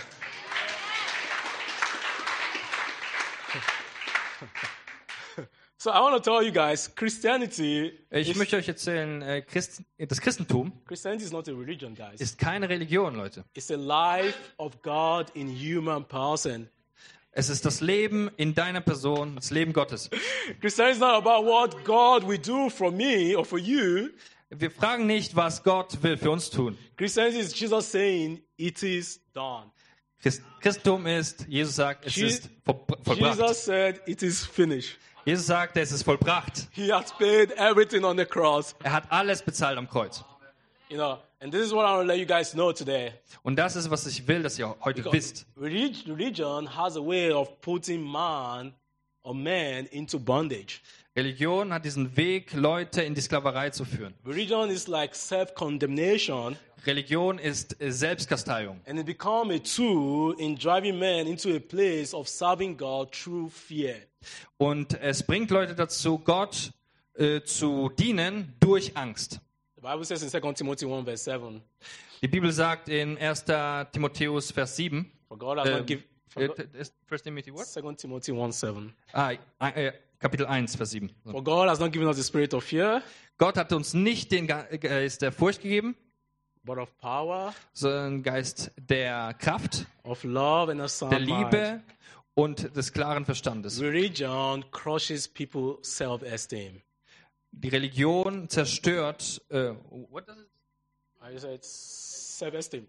[SPEAKER 1] So I want to tell you guys, Christianity
[SPEAKER 2] Ich
[SPEAKER 1] is,
[SPEAKER 2] möchte euch erzählen, äh, Christ, das Christentum
[SPEAKER 1] Christianity is not a religion, guys.
[SPEAKER 2] ist keine Religion, Leute.
[SPEAKER 1] It's a life of God in human person.
[SPEAKER 2] Es ist das Leben in deiner Person, das Leben Gottes.
[SPEAKER 1] Christianity is not about what God will do for me or for you.
[SPEAKER 2] Wir fragen nicht, was Gott will für uns tun.
[SPEAKER 1] Christianity is Jesus saying, it is done.
[SPEAKER 2] Christ, Christentum ist, Jesus sagt, es
[SPEAKER 1] Je-
[SPEAKER 2] ist vor, vollbracht.
[SPEAKER 1] Jesus said, it is finished.
[SPEAKER 2] Jesus sagt, es ist vollbracht.
[SPEAKER 1] He has paid everything on the cross.
[SPEAKER 2] Er hat alles bezahlt am Kreuz.
[SPEAKER 1] You know, and this is what I want to let you guys know today.
[SPEAKER 2] Und das ist, was ich will, dass ihr heute
[SPEAKER 1] Because
[SPEAKER 2] wisst.
[SPEAKER 1] relig- religion has a way of putting man or man into bondage.
[SPEAKER 2] Religion hat diesen Weg, Leute in die Sklaverei zu führen.
[SPEAKER 1] Religion is like self-condemnation,
[SPEAKER 2] Religion ist äh, Selbstkasteiung.
[SPEAKER 1] and it becomes a tool in driving men into a place of serving God through fear.
[SPEAKER 2] Und es bringt Leute dazu, Gott äh, zu dienen durch Angst.
[SPEAKER 1] The Bible says in Second Timothy one verse seven,
[SPEAKER 2] Die Bibel sagt in erster Timotheus Vers sieben,
[SPEAKER 1] for God has
[SPEAKER 2] ähm,
[SPEAKER 1] not given
[SPEAKER 2] äh, ist First Timothy what?
[SPEAKER 1] Second Timothy one seven.
[SPEAKER 2] Ah, äh, Kapitel eins, Vers sieben. So.
[SPEAKER 1] For God has not given us the spirit of fear,
[SPEAKER 2] Gott hat uns nicht den Ge- Geist der Furcht gegeben,
[SPEAKER 1] but of power,
[SPEAKER 2] sondern einen Geist der Kraft,
[SPEAKER 1] of love, and of sound
[SPEAKER 2] der
[SPEAKER 1] mind.
[SPEAKER 2] Liebe und des klaren Verstandes.
[SPEAKER 1] Religion crushes people's self-esteem.
[SPEAKER 2] Die Religion zerstört. Äh, what does it?
[SPEAKER 1] I said self-esteem.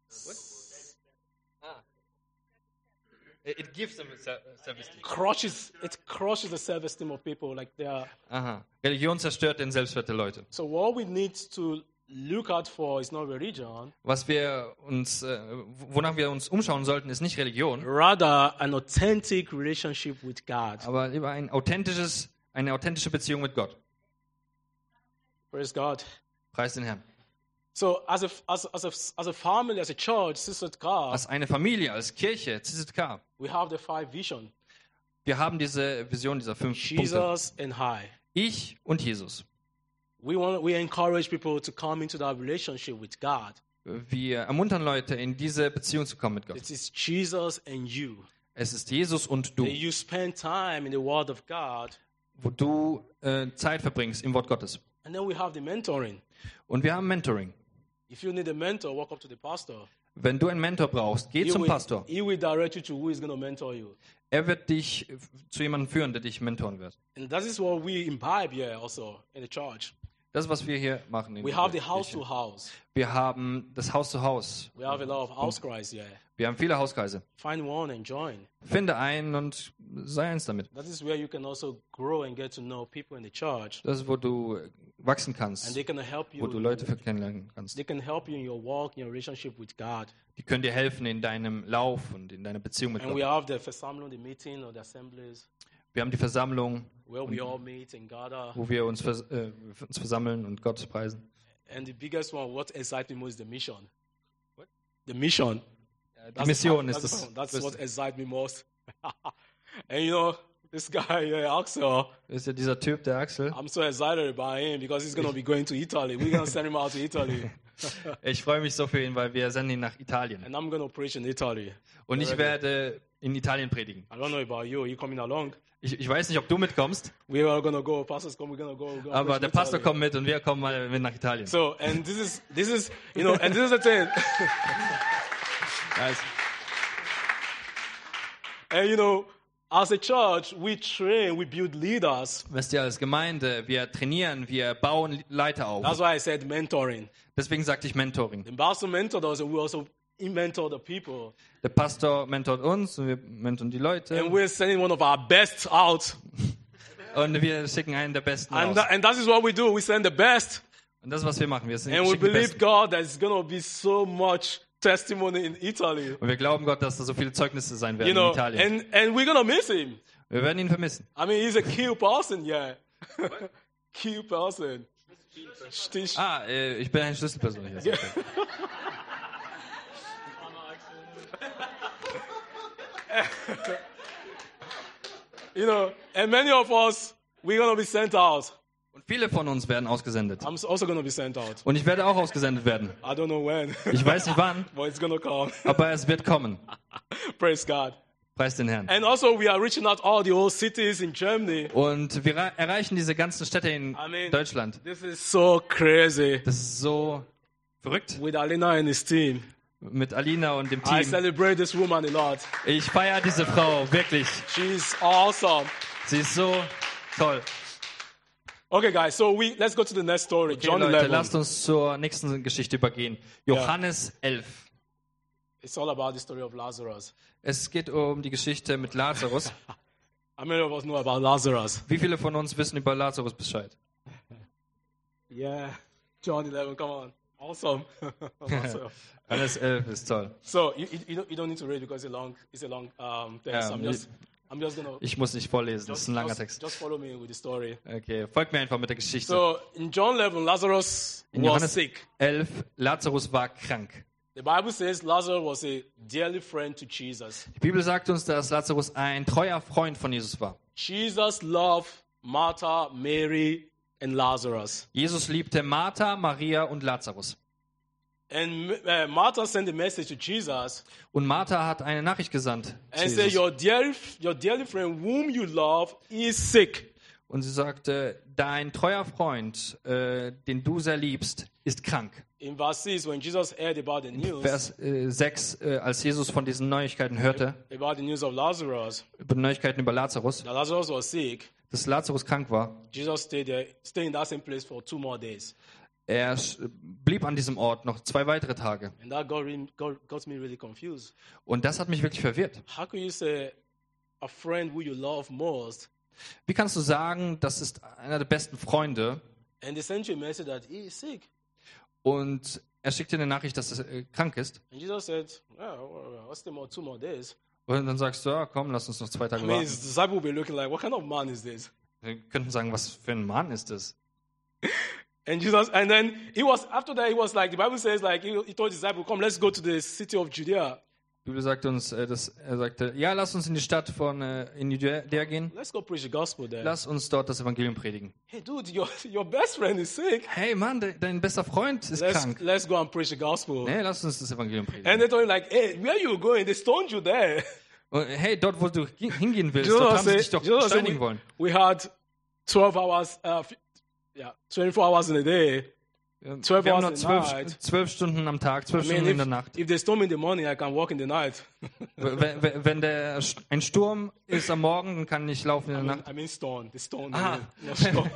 [SPEAKER 2] It gives them self-esteem.
[SPEAKER 1] Crushes it crushes the self-esteem of people. Like they are.
[SPEAKER 2] Aha. Religion zerstört den Selbstwert der Leute.
[SPEAKER 1] So what we need to look out for is not religion,
[SPEAKER 2] Was wir uns, äh, wonach wir uns umschauen sollten, ist nicht Religion,
[SPEAKER 1] rather an authentic relationship with God.
[SPEAKER 2] aber lieber ein authentisches, eine authentische Beziehung mit Gott.
[SPEAKER 1] Praise God.
[SPEAKER 2] Preis den Herrn.
[SPEAKER 1] So as a as as a as a family, as a church, Sister God,
[SPEAKER 2] Als eine Familie, als Kirche, Z Z K,
[SPEAKER 1] we have the five vision:
[SPEAKER 2] wir haben diese Vision dieser fünf Punkte.
[SPEAKER 1] Jesus and I.
[SPEAKER 2] Ich und Jesus.
[SPEAKER 1] We want we encourage people to come into that relationship with God.
[SPEAKER 2] Wir ermuntern Leute, in diese Beziehung zu kommen mit Gott.
[SPEAKER 1] It is Jesus and you.
[SPEAKER 2] Es ist Jesus und du,
[SPEAKER 1] That you spend time in the Word of God,
[SPEAKER 2] wo du äh, Zeit verbringst im Wort Gottes.
[SPEAKER 1] and then we have the mentoring.
[SPEAKER 2] Und wir haben Mentoring.
[SPEAKER 1] If you need a mentor, walk up to the pastor.
[SPEAKER 2] Wenn du einen Mentor brauchst, geh
[SPEAKER 1] He
[SPEAKER 2] zum
[SPEAKER 1] will,
[SPEAKER 2] Pastor.
[SPEAKER 1] he will direct you to who is going to mentor you.
[SPEAKER 2] Er wird dich zu jemandem führen, der dich mentoren wird.
[SPEAKER 1] And that is what we imbibe here also in the church.
[SPEAKER 2] Das ist, was wir hier machen. In
[SPEAKER 1] We
[SPEAKER 2] dieser
[SPEAKER 1] have the house
[SPEAKER 2] Kirche.
[SPEAKER 1] to house.
[SPEAKER 2] Wir haben das Haus zu Haus.
[SPEAKER 1] We have a lot of house cries here.
[SPEAKER 2] Wir haben viele Hauskreise.
[SPEAKER 1] Find one and join.
[SPEAKER 2] Finde einen und sei eins damit.
[SPEAKER 1] That is where you can also grow and get to know people in the church.
[SPEAKER 2] Das ist, wo du wachsen
[SPEAKER 1] And
[SPEAKER 2] kannst,
[SPEAKER 1] they can help
[SPEAKER 2] wo du
[SPEAKER 1] you.
[SPEAKER 2] Leute kennenlernen kannst.
[SPEAKER 1] They can help you in your walk, in your relationship with God.
[SPEAKER 2] Die können dir helfen in deinem Lauf und in deiner Beziehung mit
[SPEAKER 1] And we
[SPEAKER 2] Gott.
[SPEAKER 1] have the Versammlung, the meeting or the assemblies
[SPEAKER 2] Wir haben die Versammlung,
[SPEAKER 1] where we all meet and gather.
[SPEAKER 2] wo wir uns, vers äh, uns versammeln und Gott preisen.
[SPEAKER 1] And the biggest one, what excites me most is the mission. The mission.
[SPEAKER 2] Die
[SPEAKER 1] That's
[SPEAKER 2] Mission
[SPEAKER 1] the-
[SPEAKER 2] ist
[SPEAKER 1] that's,
[SPEAKER 2] das.
[SPEAKER 1] that's
[SPEAKER 2] das
[SPEAKER 1] what excites me most. And you know, this guy, uh, Axel,
[SPEAKER 2] ist ja dieser Typ, der Axel.
[SPEAKER 1] I'm so excited about him because he's going to be going to Italy. We're going to send him out to Italy.
[SPEAKER 2] Ich freue mich so für ihn, weil wir senden ihn nach Italien.
[SPEAKER 1] And I'm going to preach in Italy.
[SPEAKER 2] Und ich werde in Italien predigen.
[SPEAKER 1] I don't know about you. Are you coming along?
[SPEAKER 2] Ich, ich weiß nicht, ob du mitkommst,
[SPEAKER 1] We are going to go. Pastors come. We're going to go. We're gonna
[SPEAKER 2] aber
[SPEAKER 1] preach
[SPEAKER 2] der
[SPEAKER 1] in
[SPEAKER 2] Pastor
[SPEAKER 1] Italy.
[SPEAKER 2] kommt mit und wir kommen mal mit nach Italien.
[SPEAKER 1] So, and this is, this is, you know, and this is the thing.
[SPEAKER 2] Nice.
[SPEAKER 1] And you know, as a church, we train, we build leaders.
[SPEAKER 2] Wisst ihr, als Gemeinde, wir trainieren, wir bauen Leiter auf.
[SPEAKER 1] That's why I said mentoring.
[SPEAKER 2] Deswegen sagte ich Mentoring.
[SPEAKER 1] The pastor mentored us, and we also mentor the people.
[SPEAKER 2] Der Pastor mentort uns und wir mentoren die Leute.
[SPEAKER 1] And we're sending one of our best out.
[SPEAKER 2] Und wir schicken einen der Besten
[SPEAKER 1] And,
[SPEAKER 2] raus.
[SPEAKER 1] that, and that is what we do. We send the best.
[SPEAKER 2] Und das ist, was wir machen. Wir sind
[SPEAKER 1] And we
[SPEAKER 2] schicken die
[SPEAKER 1] believe
[SPEAKER 2] Besten.
[SPEAKER 1] God that it's going to be so much testimony in Italy.
[SPEAKER 2] Und wir glauben Gott, dass da so viele Zeugnisse sein werden
[SPEAKER 1] You know,
[SPEAKER 2] in Italien.
[SPEAKER 1] and, and we're going to miss him.
[SPEAKER 2] Wir werden ihn vermissen.
[SPEAKER 1] I mean, he's a key person, yeah. Key person. Stich.
[SPEAKER 2] Ah, äh, ich bin eine Schlüsselperson hier.
[SPEAKER 1] Yeah. You know, and many of us, we're going to be sent out.
[SPEAKER 2] Und viele von uns werden ausgesendet.
[SPEAKER 1] I'm also going to be sent out.
[SPEAKER 2] Und ich werde auch ausgesendet werden.
[SPEAKER 1] I don't know when,
[SPEAKER 2] Ich weiß nicht wann,
[SPEAKER 1] but it's going to come.
[SPEAKER 2] aber es wird kommen.
[SPEAKER 1] Praise God.
[SPEAKER 2] Preis den Herrn.
[SPEAKER 1] And also, we are reaching out all the old cities in Germany.
[SPEAKER 2] Und wir ra- erreichen diese ganzen Städte in
[SPEAKER 1] I mean,
[SPEAKER 2] Deutschland.
[SPEAKER 1] this is so crazy.
[SPEAKER 2] Das ist so verrückt.
[SPEAKER 1] With Alina and his team.
[SPEAKER 2] Mit Alina und dem
[SPEAKER 1] I
[SPEAKER 2] Team.
[SPEAKER 1] celebrate this woman a lot.
[SPEAKER 2] Ich feiere diese Frau, wirklich.
[SPEAKER 1] She's awesome.
[SPEAKER 2] Sie ist so toll.
[SPEAKER 1] Okay, guys, so we let's go to the next story.
[SPEAKER 2] Okay,
[SPEAKER 1] John
[SPEAKER 2] Leute,
[SPEAKER 1] eleven.
[SPEAKER 2] lasst uns zur nächsten Geschichte übergehen. Johannes elf.
[SPEAKER 1] It's all about the story of Lazarus.
[SPEAKER 2] Es geht um die Geschichte mit Lazarus.
[SPEAKER 1] How many of us know about Lazarus?
[SPEAKER 2] Wie viele von uns wissen über Lazarus Bescheid?
[SPEAKER 1] Yeah, John eleven. Come on, awesome. awesome.
[SPEAKER 2] Johannes elf ist toll.
[SPEAKER 1] So you, you, you don't, you don't need to read because it's a long it's a long um, text.
[SPEAKER 2] Yeah,
[SPEAKER 1] I'm just I'm just gonna
[SPEAKER 2] Ich muss nicht vorlesen, das ist
[SPEAKER 1] just,
[SPEAKER 2] ein langer
[SPEAKER 1] just,
[SPEAKER 2] Text.
[SPEAKER 1] just follow me with the story.
[SPEAKER 2] Okay, folgt mir einfach mit der Geschichte.
[SPEAKER 1] So in John eleven, Lazarus
[SPEAKER 2] In
[SPEAKER 1] was
[SPEAKER 2] Johannes
[SPEAKER 1] sick.
[SPEAKER 2] elf, Lazarus war krank.
[SPEAKER 1] The Bible says Lazarus was a dearly friend to Jesus.
[SPEAKER 2] Die Bibel sagt uns, dass Lazarus ein treuer Freund von Jesus war.
[SPEAKER 1] Jesus loved Martha, Mary, and Lazarus.
[SPEAKER 2] Jesus liebte Martha, Maria und Lazarus.
[SPEAKER 1] And uh, Martha sent a message to Jesus
[SPEAKER 2] Und Martha hat eine Nachricht gesandt zu
[SPEAKER 1] and said,
[SPEAKER 2] Jesus.
[SPEAKER 1] your dear, your dearly friend whom you love is sick.
[SPEAKER 2] Und sie sagte, dein treuer Freund, äh, den du sehr liebst, ist krank.
[SPEAKER 1] In verse six, when Jesus heard about the news,
[SPEAKER 2] Vers äh, sechs, äh, als Jesus von diesen Neuigkeiten hörte,
[SPEAKER 1] about the news of Lazarus,
[SPEAKER 2] über Neuigkeiten über Lazarus,
[SPEAKER 1] that Lazarus was sick,
[SPEAKER 2] dass Lazarus krank war,
[SPEAKER 1] Jesus stayed there, stayed in that same place for two more days.
[SPEAKER 2] er sch- blieb an diesem Ort noch zwei weitere Tage.
[SPEAKER 1] And that got, re- got, got me really confused.
[SPEAKER 2] Und das hat mich wirklich verwirrt.
[SPEAKER 1] How can you say a friend who you love most,
[SPEAKER 2] Wie kannst du sagen, das ist einer der besten Freunde,
[SPEAKER 1] and they sent you a message that he is sick?
[SPEAKER 2] und er schickt dir eine Nachricht, dass er äh, krank ist?
[SPEAKER 1] And Jesus said, well, what's the more, two more days?
[SPEAKER 2] Und dann sagst du, ja, komm, lass uns noch zwei
[SPEAKER 1] I
[SPEAKER 2] Tage
[SPEAKER 1] mean,
[SPEAKER 2] warten.
[SPEAKER 1] his disciple will be looking like, what kind of man is this?
[SPEAKER 2] Wir könnten sagen, was für ein Mann ist das?
[SPEAKER 1] And Jesus, and then he was, after that, he was like, the Bible says, like, he, he told his disciple, come, let's go to the city of Judea.
[SPEAKER 2] Die Bibel sagt uns, äh, dass er sagte, ja, lass uns in die Stadt von äh, in Judäa gehen.
[SPEAKER 1] Let's go preach the gospel there.
[SPEAKER 2] Lass uns dort das Evangelium predigen.
[SPEAKER 1] Hey, dude, your, your best friend is sick.
[SPEAKER 2] Hey Mann, de, dein bester Freund ist
[SPEAKER 1] Let's,
[SPEAKER 2] krank.
[SPEAKER 1] let's go and preach the gospel.
[SPEAKER 2] Nee, lass uns das Evangelium
[SPEAKER 1] And
[SPEAKER 2] predigen.
[SPEAKER 1] they told him, like, hey, where you going? They stoned you there.
[SPEAKER 2] Und, hey, dort, wo du gi- hingehen willst,
[SPEAKER 1] Jesus
[SPEAKER 2] dort haben sie
[SPEAKER 1] said-
[SPEAKER 2] dich doch
[SPEAKER 1] Jesus said
[SPEAKER 2] steinigen wollen.
[SPEAKER 1] we, we had twelve hours, uh, f- yeah, twenty-four hours in a day. twelve
[SPEAKER 2] Wir haben
[SPEAKER 1] hours
[SPEAKER 2] nur
[SPEAKER 1] in the
[SPEAKER 2] zwölf,
[SPEAKER 1] night.
[SPEAKER 2] zwölf Stunden am Tag, zwölf
[SPEAKER 1] I mean,
[SPEAKER 2] Stunden in der
[SPEAKER 1] if,
[SPEAKER 2] Nacht.
[SPEAKER 1] if they storm in the morning, I can walk in the night.
[SPEAKER 2] Wenn, wenn wenn der, St- ein Sturm ist am Morgen, dann kann ich laufen in
[SPEAKER 1] I
[SPEAKER 2] der
[SPEAKER 1] mean,
[SPEAKER 2] Nacht.
[SPEAKER 1] I mean stone. The stone.
[SPEAKER 2] Ah.
[SPEAKER 1] I mean, not storm.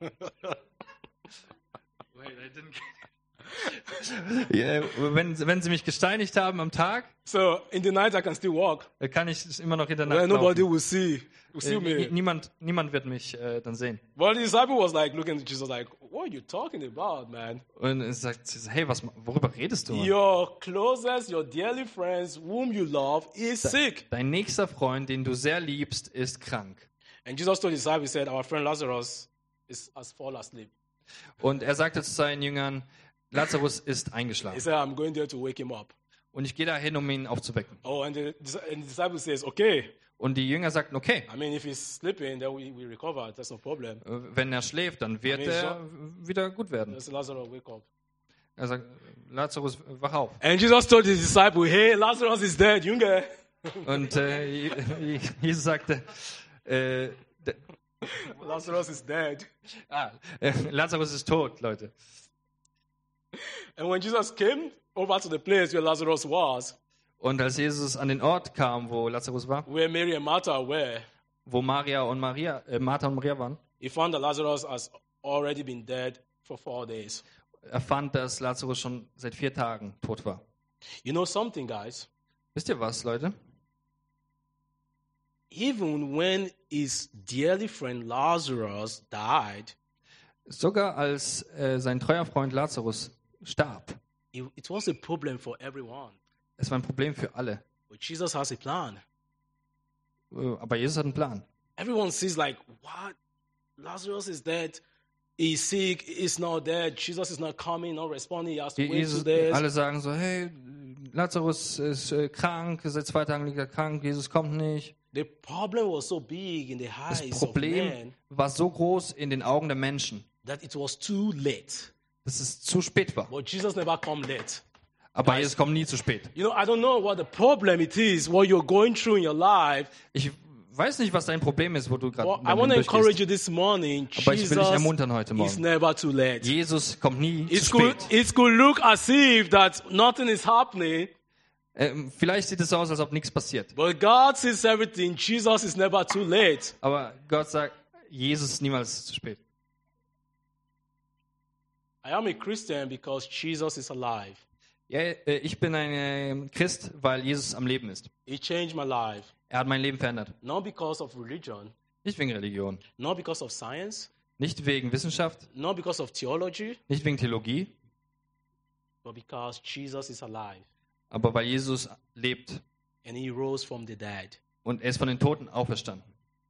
[SPEAKER 2] Ja, wenn, wenn sie mich gesteinigt haben am Tag,
[SPEAKER 1] So in the night, I can still walk.
[SPEAKER 2] dann kann ich immer noch in der
[SPEAKER 1] Well,
[SPEAKER 2] Nacht
[SPEAKER 1] nobody
[SPEAKER 2] laufen.
[SPEAKER 1] will see. Will see
[SPEAKER 2] Äh,
[SPEAKER 1] me.
[SPEAKER 2] Niemand, niemand wird mich äh, dann sehen.
[SPEAKER 1] But the disciple was like looking at Jesus like, what are you talking about, man?
[SPEAKER 2] Und er sagt, hey, was, worüber redest du? Mann?
[SPEAKER 1] Your closest, your dearly friends, whom you love, is sick.
[SPEAKER 2] Dein nächster Freund, den du sehr liebst, ist krank.
[SPEAKER 1] And Jesus told his disciples, he said, our friend Lazarus is has fallen asleep.
[SPEAKER 2] Und er sagte zu seinen Jüngern, Lazarus ist
[SPEAKER 1] He
[SPEAKER 2] eingeschlafen.
[SPEAKER 1] said, I'm going there to wake him up.
[SPEAKER 2] Und ich gehe dahin, um ihn aufzuwecken.
[SPEAKER 1] Oh, and the, and the disciple says, okay.
[SPEAKER 2] Und die Jünger sagten, okay,
[SPEAKER 1] I mean, if he's sleeping, then we, we recover. That's no problem.
[SPEAKER 2] äh, wenn er schläft, dann wird
[SPEAKER 1] I mean,
[SPEAKER 2] er wieder gut werden.
[SPEAKER 1] Just Lazarus, wake up.
[SPEAKER 2] Er sagt, Lazarus, wach auf.
[SPEAKER 1] And Jesus told his disciple, hey, Lazarus is dead, Junge.
[SPEAKER 2] Und äh, Jesus sagte, äh, d-
[SPEAKER 1] Lazarus is dead.
[SPEAKER 2] ah, äh, Lazarus ist tot, Leute.
[SPEAKER 1] And when Jesus came over to the place where Lazarus was,
[SPEAKER 2] Und als Jesus an den Ort kam, wo Lazarus war,
[SPEAKER 1] where Mary and Martha were,
[SPEAKER 2] wo Maria und Maria, äh, Martha und Maria waren,
[SPEAKER 1] he found that Lazarus has already been dead for four days.
[SPEAKER 2] er fand, dass Lazarus schon seit vier Tagen tot war.
[SPEAKER 1] You know something, guys?
[SPEAKER 2] Wisst ihr was, Leute?
[SPEAKER 1] Even when his dearly friend Lazarus died,
[SPEAKER 2] Sogar als äh, sein treuer Freund Lazarus starb,
[SPEAKER 1] it, it was a problem for everyone.
[SPEAKER 2] es war ein Problem für alle.
[SPEAKER 1] But Jesus has a plan.
[SPEAKER 2] Äh, Aber Jesus hat einen Plan.
[SPEAKER 1] Everyone sees like, what? Lazarus is dead. He's sick. He's not dead. Jesus is not coming, not responding. He has to wait two
[SPEAKER 2] Jesus,
[SPEAKER 1] days.
[SPEAKER 2] alle sagen so, hey, Lazarus ist äh, krank, seit zwei Tagen liegt er krank, Jesus kommt nicht.
[SPEAKER 1] The problem was so big in the
[SPEAKER 2] Das
[SPEAKER 1] eyes of
[SPEAKER 2] Problem
[SPEAKER 1] men
[SPEAKER 2] war so groß in den Augen der Menschen,
[SPEAKER 1] that it was too late.
[SPEAKER 2] dass es zu spät war.
[SPEAKER 1] But Jesus never come late.
[SPEAKER 2] Aber Jesus kommt nie zu spät.
[SPEAKER 1] You know, I don't know what the problem it is, what you're going through in your life.
[SPEAKER 2] Ich weiß nicht, was dein Problem ist, wo du gerade
[SPEAKER 1] Well, I want to
[SPEAKER 2] durchgehst.
[SPEAKER 1] encourage you this morning.
[SPEAKER 2] Aber ich will dich
[SPEAKER 1] Jesus
[SPEAKER 2] ermuntern heute
[SPEAKER 1] is
[SPEAKER 2] Morgen.
[SPEAKER 1] never too late.
[SPEAKER 2] Jesus kommt nie
[SPEAKER 1] It
[SPEAKER 2] zu
[SPEAKER 1] could,
[SPEAKER 2] spät.
[SPEAKER 1] it could look as if that nothing is happening,
[SPEAKER 2] Ähm, vielleicht sieht es aus, als ob nichts passiert.
[SPEAKER 1] but God sees everything. Jesus is never too late.
[SPEAKER 2] Aber Gott sagt, Jesus ist niemals zu spät.
[SPEAKER 1] I am a Christian because Jesus is alive.
[SPEAKER 2] Ja, äh, ich bin ein äh, Christ, weil Jesus am Leben ist.
[SPEAKER 1] He changed my life,
[SPEAKER 2] Er hat mein Leben verändert.
[SPEAKER 1] not because of religion,
[SPEAKER 2] Nicht wegen Religion,
[SPEAKER 1] not because of science,
[SPEAKER 2] nicht wegen Wissenschaft,
[SPEAKER 1] not because of theology,
[SPEAKER 2] nicht wegen Theologie,
[SPEAKER 1] but because Jesus is alive
[SPEAKER 2] aber weil Jesus lebt
[SPEAKER 1] and he rose from the dead.
[SPEAKER 2] und er ist von den Toten auferstanden.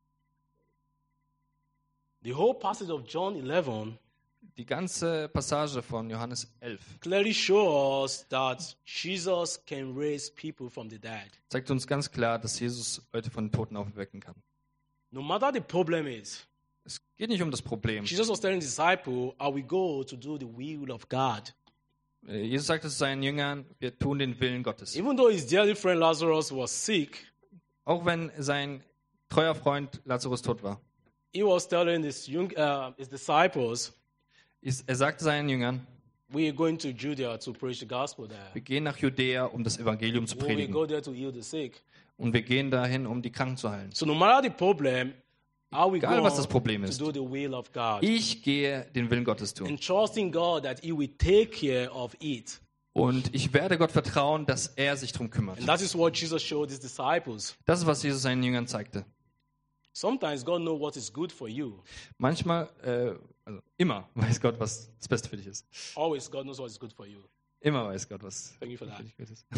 [SPEAKER 1] The whole passage of John eleven
[SPEAKER 2] Die ganze Passage von Johannes elf
[SPEAKER 1] clearly shows that Jesus can raise people from the dead.
[SPEAKER 2] zeigt uns ganz klar, dass Jesus Leute von den Toten auferwecken kann.
[SPEAKER 1] No matter the problem is,
[SPEAKER 2] Es geht nicht um das Problem.
[SPEAKER 1] Jesus was telling the disciple, I will go to do the will of God.
[SPEAKER 2] Äh, Jesus sagte zu seinen Jüngern, wir tun den Willen Gottes.
[SPEAKER 1] Even though his dearly friend Lazarus was sick,
[SPEAKER 2] Auch wenn sein treuer Freund Lazarus tot war.
[SPEAKER 1] he was telling his, young, uh, his disciples,
[SPEAKER 2] Ist- Er sagte seinen Jüngern,
[SPEAKER 1] we are going to Judea to preach the gospel there.
[SPEAKER 2] wir gehen nach Judäa, um das Evangelium zu
[SPEAKER 1] We will
[SPEAKER 2] predigen.
[SPEAKER 1] go there to heal the sick.
[SPEAKER 2] Und wir gehen dahin, um die Kranken zu heilen.
[SPEAKER 1] So no matter the problem, I will
[SPEAKER 2] Egal,
[SPEAKER 1] go
[SPEAKER 2] was das Problem
[SPEAKER 1] to
[SPEAKER 2] ist.
[SPEAKER 1] do the will of God.
[SPEAKER 2] Ich gehe den Willen Gottes tun.
[SPEAKER 1] And trusting God that he will take care of it.
[SPEAKER 2] Und ich werde Gott vertrauen, dass er sich darum kümmert.
[SPEAKER 1] And that is what Jesus showed his disciples.
[SPEAKER 2] Das ist, was Jesus seinen Jüngern zeigte.
[SPEAKER 1] Sometimes God knows what is good for you.
[SPEAKER 2] Manchmal, äh, also immer weiß Gott, was das Beste für dich ist.
[SPEAKER 1] Always God knows what is good for you.
[SPEAKER 2] Immer weiß Gott, was
[SPEAKER 1] Thank you for that.
[SPEAKER 2] für dich gut ist.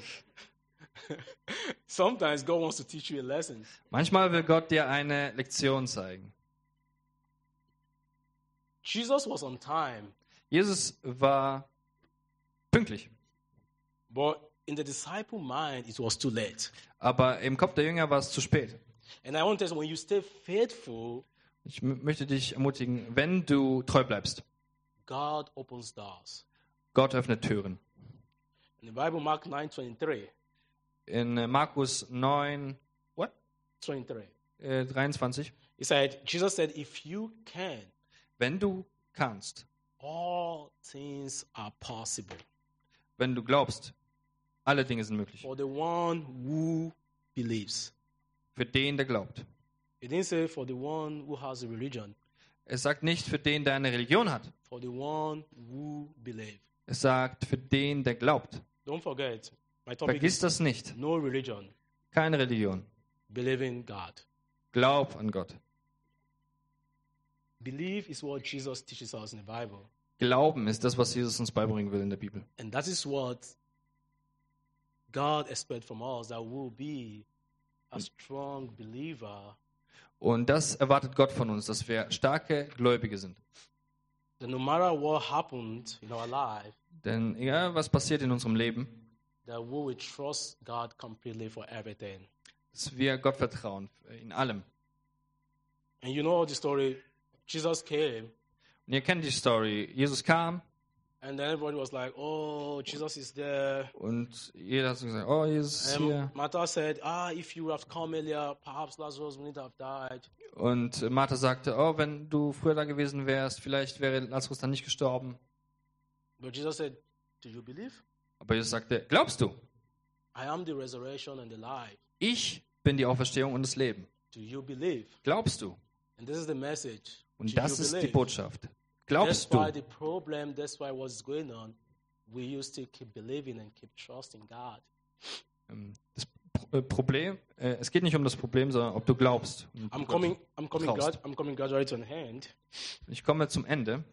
[SPEAKER 1] Sometimes God wants to teach you a lesson.
[SPEAKER 2] Manchmal will Gott dir eine Lektion zeigen.
[SPEAKER 1] Jesus was on time,
[SPEAKER 2] Jesus war pünktlich,
[SPEAKER 1] but in the disciple mind, it was too late.
[SPEAKER 2] aber im Kopf der Jünger war es zu spät.
[SPEAKER 1] And I want to tell you, when you stay faithful,
[SPEAKER 2] Ich m- möchte dich ermutigen, wenn du treu bleibst,
[SPEAKER 1] God opens doors.
[SPEAKER 2] Gott öffnet Türen.
[SPEAKER 1] In the Bible, Mark nine twenty-three,
[SPEAKER 2] In äh, Markus neun, what?
[SPEAKER 1] twenty-three,
[SPEAKER 2] Äh, dreiundzwanzig,
[SPEAKER 1] he said, Jesus said, if you can,
[SPEAKER 2] wenn du kannst,
[SPEAKER 1] all things are possible
[SPEAKER 2] wenn du glaubst, alle Dinge sind möglich.
[SPEAKER 1] for the one who believes.
[SPEAKER 2] Für den, der glaubt.
[SPEAKER 1] He didn't say for the one who has a religion,
[SPEAKER 2] Es sagt nicht für den, der eine Religion hat.
[SPEAKER 1] for the one who believes.
[SPEAKER 2] Es sagt für den, der glaubt.
[SPEAKER 1] Don't forget, my topic
[SPEAKER 2] Vergiss
[SPEAKER 1] is
[SPEAKER 2] das nicht.
[SPEAKER 1] no religion,
[SPEAKER 2] Keine Religion.
[SPEAKER 1] believing God.
[SPEAKER 2] Glaub an Gott.
[SPEAKER 1] Believe is what Jesus teaches us in the Bible.
[SPEAKER 2] Glauben ist das, was Jesus uns beibringen will in der Bibel.
[SPEAKER 1] And that is what God expects from us, that we'll be a strong believer,
[SPEAKER 2] Und das erwartet Gott von uns, dass wir starke Gläubige sind.
[SPEAKER 1] that no matter what happened in our life,
[SPEAKER 2] Denn egal, was passiert in unserem Leben,
[SPEAKER 1] that we will trust God completely for everything.
[SPEAKER 2] dass wir Gott vertrauen in allem.
[SPEAKER 1] And you know the story, Jesus came,
[SPEAKER 2] Und ihr kennt die Story. Jesus kam
[SPEAKER 1] and then everybody was like, oh, Jesus is there.
[SPEAKER 2] und jeder hat so gesagt, oh, Jesus ist hier.
[SPEAKER 1] And Martha said, ah, if you would have come earlier, perhaps Lazarus wouldn't have died.
[SPEAKER 2] Und Martha sagte, oh, wenn du früher da gewesen wärst, vielleicht wäre Lazarus dann nicht gestorben.
[SPEAKER 1] But Jesus said, do you believe?
[SPEAKER 2] Aber Jesus sagte, glaubst du?
[SPEAKER 1] I am the resurrection and the life.
[SPEAKER 2] Ich bin die Auferstehung und das Leben.
[SPEAKER 1] Do you believe?
[SPEAKER 2] Glaubst du?
[SPEAKER 1] And this is the message.
[SPEAKER 2] Und
[SPEAKER 1] Do
[SPEAKER 2] das
[SPEAKER 1] you
[SPEAKER 2] ist die
[SPEAKER 1] believe?
[SPEAKER 2] Botschaft. Glaubst
[SPEAKER 1] That's why
[SPEAKER 2] du?
[SPEAKER 1] the problem, that's why what's going on, we used to keep believing and keep trusting God.
[SPEAKER 2] Ähm, Das Pro- äh, Problem, äh, es geht nicht um das Problem, sondern ob du glaubst. Und
[SPEAKER 1] I'm
[SPEAKER 2] Gott
[SPEAKER 1] coming, I'm coming,
[SPEAKER 2] traust.
[SPEAKER 1] grad, I'm coming gradually to an end.
[SPEAKER 2] Ich komme zum Ende.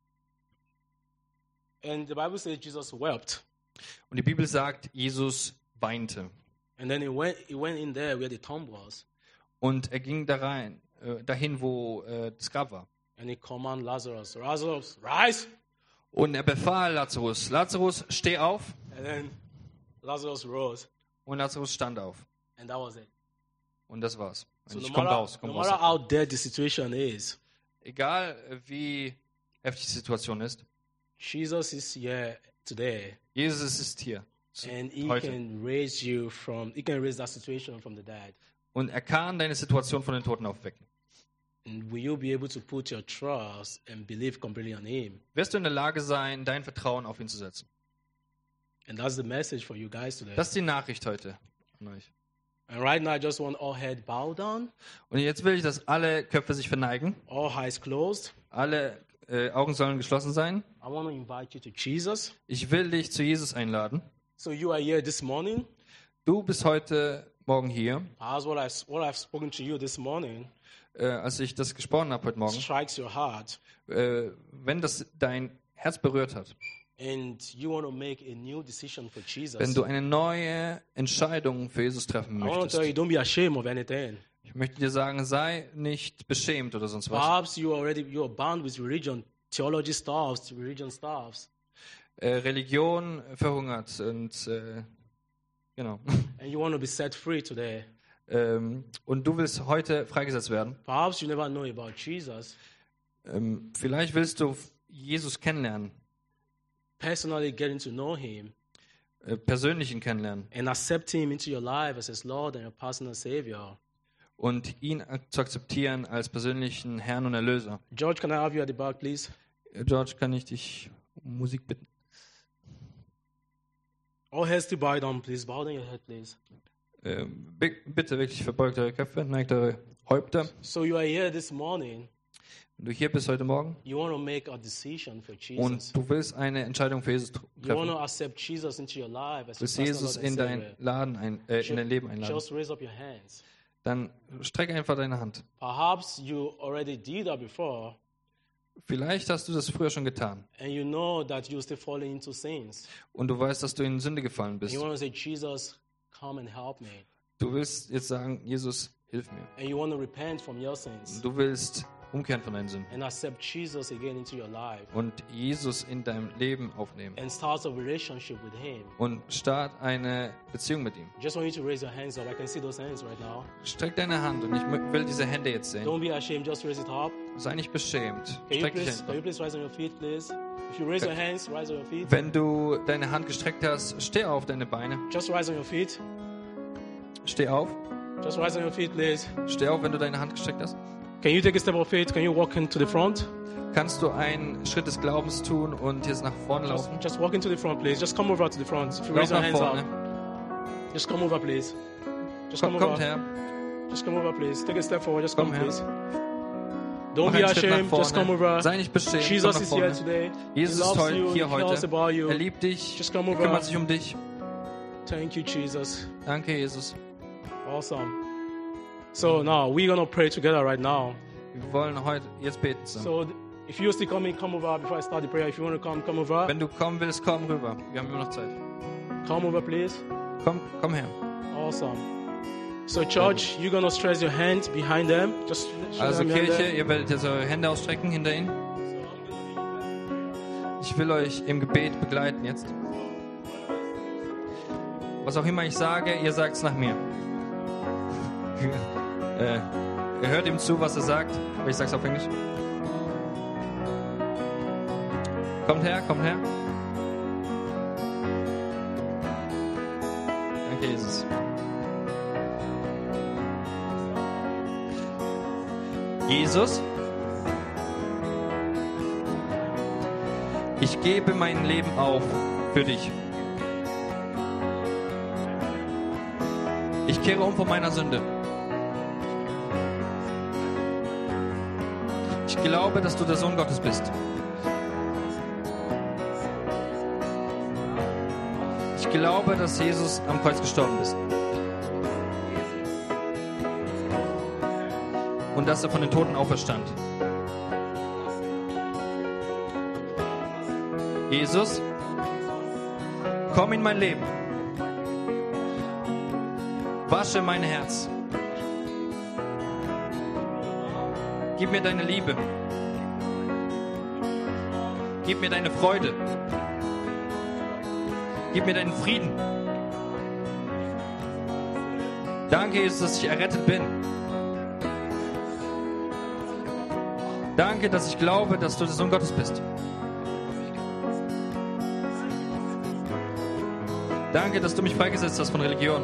[SPEAKER 1] And the Bible says Jesus wept.
[SPEAKER 2] Und die Bibel sagt, Jesus weinte.
[SPEAKER 1] And then he went, he went in there where the tomb was.
[SPEAKER 2] Und er ging da rein, äh, dahin, wo äh, das Grab war.
[SPEAKER 1] And he commanded Lazarus, Lazarus, rise!
[SPEAKER 2] Und er befahl Lazarus, Lazarus, steh auf.
[SPEAKER 1] And then Lazarus rose.
[SPEAKER 2] Und Lazarus stand auf.
[SPEAKER 1] And that was it.
[SPEAKER 2] Und das war's.
[SPEAKER 1] So
[SPEAKER 2] Und
[SPEAKER 1] no
[SPEAKER 2] ich komm
[SPEAKER 1] matter,
[SPEAKER 2] raus, komm
[SPEAKER 1] no
[SPEAKER 2] raus.
[SPEAKER 1] matter how dead the situation is,
[SPEAKER 2] Egal äh, wie heftig die Situation ist,
[SPEAKER 1] Jesus is here today.
[SPEAKER 2] Jesus ist hier. zu-
[SPEAKER 1] And he
[SPEAKER 2] Heute.
[SPEAKER 1] can raise you from, he can raise that situation from the dead.
[SPEAKER 2] Und er kann deine Situation von den Toten aufwecken.
[SPEAKER 1] And will you be able to put your trust and believe completely on him?
[SPEAKER 2] Wirst du in der Lage sein, dein Vertrauen auf ihn zu setzen?
[SPEAKER 1] And that's the message for you guys today.
[SPEAKER 2] Das ist die Nachricht heute an euch.
[SPEAKER 1] And right now, I just want all head bowed down,
[SPEAKER 2] Und jetzt will ich, dass alle Köpfe sich verneigen,
[SPEAKER 1] all eyes closed.
[SPEAKER 2] alle äh, Augen sollen geschlossen sein.
[SPEAKER 1] I want to invite you to Jesus.
[SPEAKER 2] Ich will dich zu Jesus einladen.
[SPEAKER 1] So you are here this morning.
[SPEAKER 2] Du bist heute Morgen hier.
[SPEAKER 1] As what I've, what I've spoken to you this morning
[SPEAKER 2] Äh, als ich das gesprochen habe heute Morgen,
[SPEAKER 1] strikes your heart,
[SPEAKER 2] äh, wenn das dein Herz berührt hat,
[SPEAKER 1] and you want to make a new decision for Jesus.
[SPEAKER 2] wenn du eine neue Entscheidung für Jesus treffen
[SPEAKER 1] I want to
[SPEAKER 2] möchtest,
[SPEAKER 1] tell you, don't be ashamed of anything.
[SPEAKER 2] ich möchte dir sagen, sei nicht beschämt oder sonst was.
[SPEAKER 1] Perhaps you already you are bound with religion, theology stuffs, religion stuffs,
[SPEAKER 2] Äh, Religion verhungert und äh, genau.
[SPEAKER 1] and you want to be set free today.
[SPEAKER 2] ähm, und du willst heute freigesetzt werden.
[SPEAKER 1] Perhaps you never know about Jesus.
[SPEAKER 2] Ähm, vielleicht willst du Jesus kennenlernen,
[SPEAKER 1] Personally getting to know him
[SPEAKER 2] äh, persönlich ihn kennenlernen
[SPEAKER 1] and accept him into your life as his Lord and your personal Savior.
[SPEAKER 2] und ihn ak- zu akzeptieren als persönlichen Herrn und Erlöser.
[SPEAKER 1] George, can I have you at the back, please?
[SPEAKER 2] Äh, George, kann ich dich um Musik bitten?
[SPEAKER 1] All heads to bow down, please. Bow down your head, please.
[SPEAKER 2] Ähm, bi- bitte wirklich verbeugt eure Köpfe, neigt eure Häupter.
[SPEAKER 1] So you are here this morning.
[SPEAKER 2] Wenn du hier bist heute Morgen
[SPEAKER 1] You want to make a decision for Jesus.
[SPEAKER 2] und du willst eine Entscheidung für Jesus tr-
[SPEAKER 1] You want
[SPEAKER 2] treffen,
[SPEAKER 1] to accept Jesus into your life as
[SPEAKER 2] du willst
[SPEAKER 1] your personal
[SPEAKER 2] Jesus
[SPEAKER 1] Lord
[SPEAKER 2] in
[SPEAKER 1] and
[SPEAKER 2] dein
[SPEAKER 1] Savior.
[SPEAKER 2] Laden ein, äh, in dein Leben einladen,
[SPEAKER 1] Just raise up your hands.
[SPEAKER 2] dann streck einfach deine Hand.
[SPEAKER 1] Perhaps you already did that before,
[SPEAKER 2] Vielleicht hast du das früher schon getan
[SPEAKER 1] and you know that you're still falling into sins.
[SPEAKER 2] und du weißt, dass du in Sünde gefallen bist.
[SPEAKER 1] You want to say, Jesus, come and help me.
[SPEAKER 2] Du willst jetzt sagen, Jesus, hilf mir.
[SPEAKER 1] And you want to repent from your sins
[SPEAKER 2] Du willst umkehren von deinen Sünden
[SPEAKER 1] and accept Jesus again into your life
[SPEAKER 2] und Jesus in deinem Leben aufnehmen
[SPEAKER 1] and start a relationship with him.
[SPEAKER 2] und start eine Beziehung mit ihm.
[SPEAKER 1] Just want you to raise your hands up. I can see those hands right now.
[SPEAKER 2] Streck deine Hand und ich mö- will diese Hände jetzt sehen.
[SPEAKER 1] Don't be ashamed. Just raise it up.
[SPEAKER 2] Sei nicht beschämt.
[SPEAKER 1] Can you
[SPEAKER 2] Streck dich
[SPEAKER 1] please, can you
[SPEAKER 2] einfach.
[SPEAKER 1] please rise on your feet, please? If you raise your hands, rise on your feet.
[SPEAKER 2] Wenn du deine Hand gestreckt hast, steh auf deine Beine.
[SPEAKER 1] Just rise on your feet.
[SPEAKER 2] Steh auf.
[SPEAKER 1] Just rise on your feet, please.
[SPEAKER 2] Steh auf, wenn du deine Hand gestreckt hast.
[SPEAKER 1] Can you take a step of faith? Can you walk into the front?
[SPEAKER 2] Kannst du einen Schritt des Glaubens tun und jetzt nach vorne
[SPEAKER 1] Just,
[SPEAKER 2] laufen?
[SPEAKER 1] just walk into the front, please. Just come over to the front. If you
[SPEAKER 2] Lauf
[SPEAKER 1] raise your
[SPEAKER 2] nach
[SPEAKER 1] hands
[SPEAKER 2] vorne.
[SPEAKER 1] up, just come over, please. Just come
[SPEAKER 2] Komm, kommt
[SPEAKER 1] over.
[SPEAKER 2] her.
[SPEAKER 1] Just come over, please. Take a step forward. Just
[SPEAKER 2] Komm
[SPEAKER 1] come,
[SPEAKER 2] her.
[SPEAKER 1] please. Don't
[SPEAKER 2] Mach
[SPEAKER 1] be
[SPEAKER 2] einen Schritt nach
[SPEAKER 1] ashamed. Just come
[SPEAKER 2] vorne.
[SPEAKER 1] over.
[SPEAKER 2] Sei nicht beschämt. Komm
[SPEAKER 1] Jesus
[SPEAKER 2] nach
[SPEAKER 1] is here
[SPEAKER 2] vorne.
[SPEAKER 1] today.
[SPEAKER 2] Jesus
[SPEAKER 1] He
[SPEAKER 2] ist
[SPEAKER 1] loves
[SPEAKER 2] heu-
[SPEAKER 1] you.
[SPEAKER 2] hier
[SPEAKER 1] He cares
[SPEAKER 2] heute.
[SPEAKER 1] about you.
[SPEAKER 2] Er liebt dich.
[SPEAKER 1] Just come over.
[SPEAKER 2] Kümmert sich um dich.
[SPEAKER 1] Thank you, Jesus.
[SPEAKER 2] Danke, Jesus.
[SPEAKER 1] Awesome. So now we're gonna pray together right now.
[SPEAKER 2] Wir wollen heute jetzt beten zusammen.
[SPEAKER 1] So th- if you're still coming, come over before I start the prayer. If you want to come, come over.
[SPEAKER 2] Wenn du kommen willst, komm rüber. Wir haben immer noch Zeit.
[SPEAKER 1] Come over, please.
[SPEAKER 2] Komm, komm her.
[SPEAKER 1] Awesome. So church, you're gonna stretch your hand behind them. Just show
[SPEAKER 2] Also
[SPEAKER 1] them behind
[SPEAKER 2] Kirche,
[SPEAKER 1] them.
[SPEAKER 2] ihr werdet jetzt eure Hände ausstrecken hinter ihnen. Ich will euch im Gebet begleiten jetzt. Was auch immer ich sage, ihr sagt es nach mir. äh, ihr hört ihm zu, was er sagt, aber ich sag's auf Englisch. Kommt her, kommt her. Danke, Jesus. Jesus, ich gebe mein Leben auf für dich. kehre um von meiner Sünde. Ich glaube, dass du der Sohn Gottes bist. Ich glaube, dass Jesus am Kreuz gestorben ist. Und dass er von den Toten auferstand. Jesus, komm in mein Leben. Wasche mein Herz. Gib mir deine Liebe. Gib mir deine Freude. Gib mir deinen Frieden. Danke, Jesus, dass ich errettet bin. Danke, dass ich glaube, dass du der Sohn Gottes bist. Danke, dass du mich freigesetzt hast von Religion.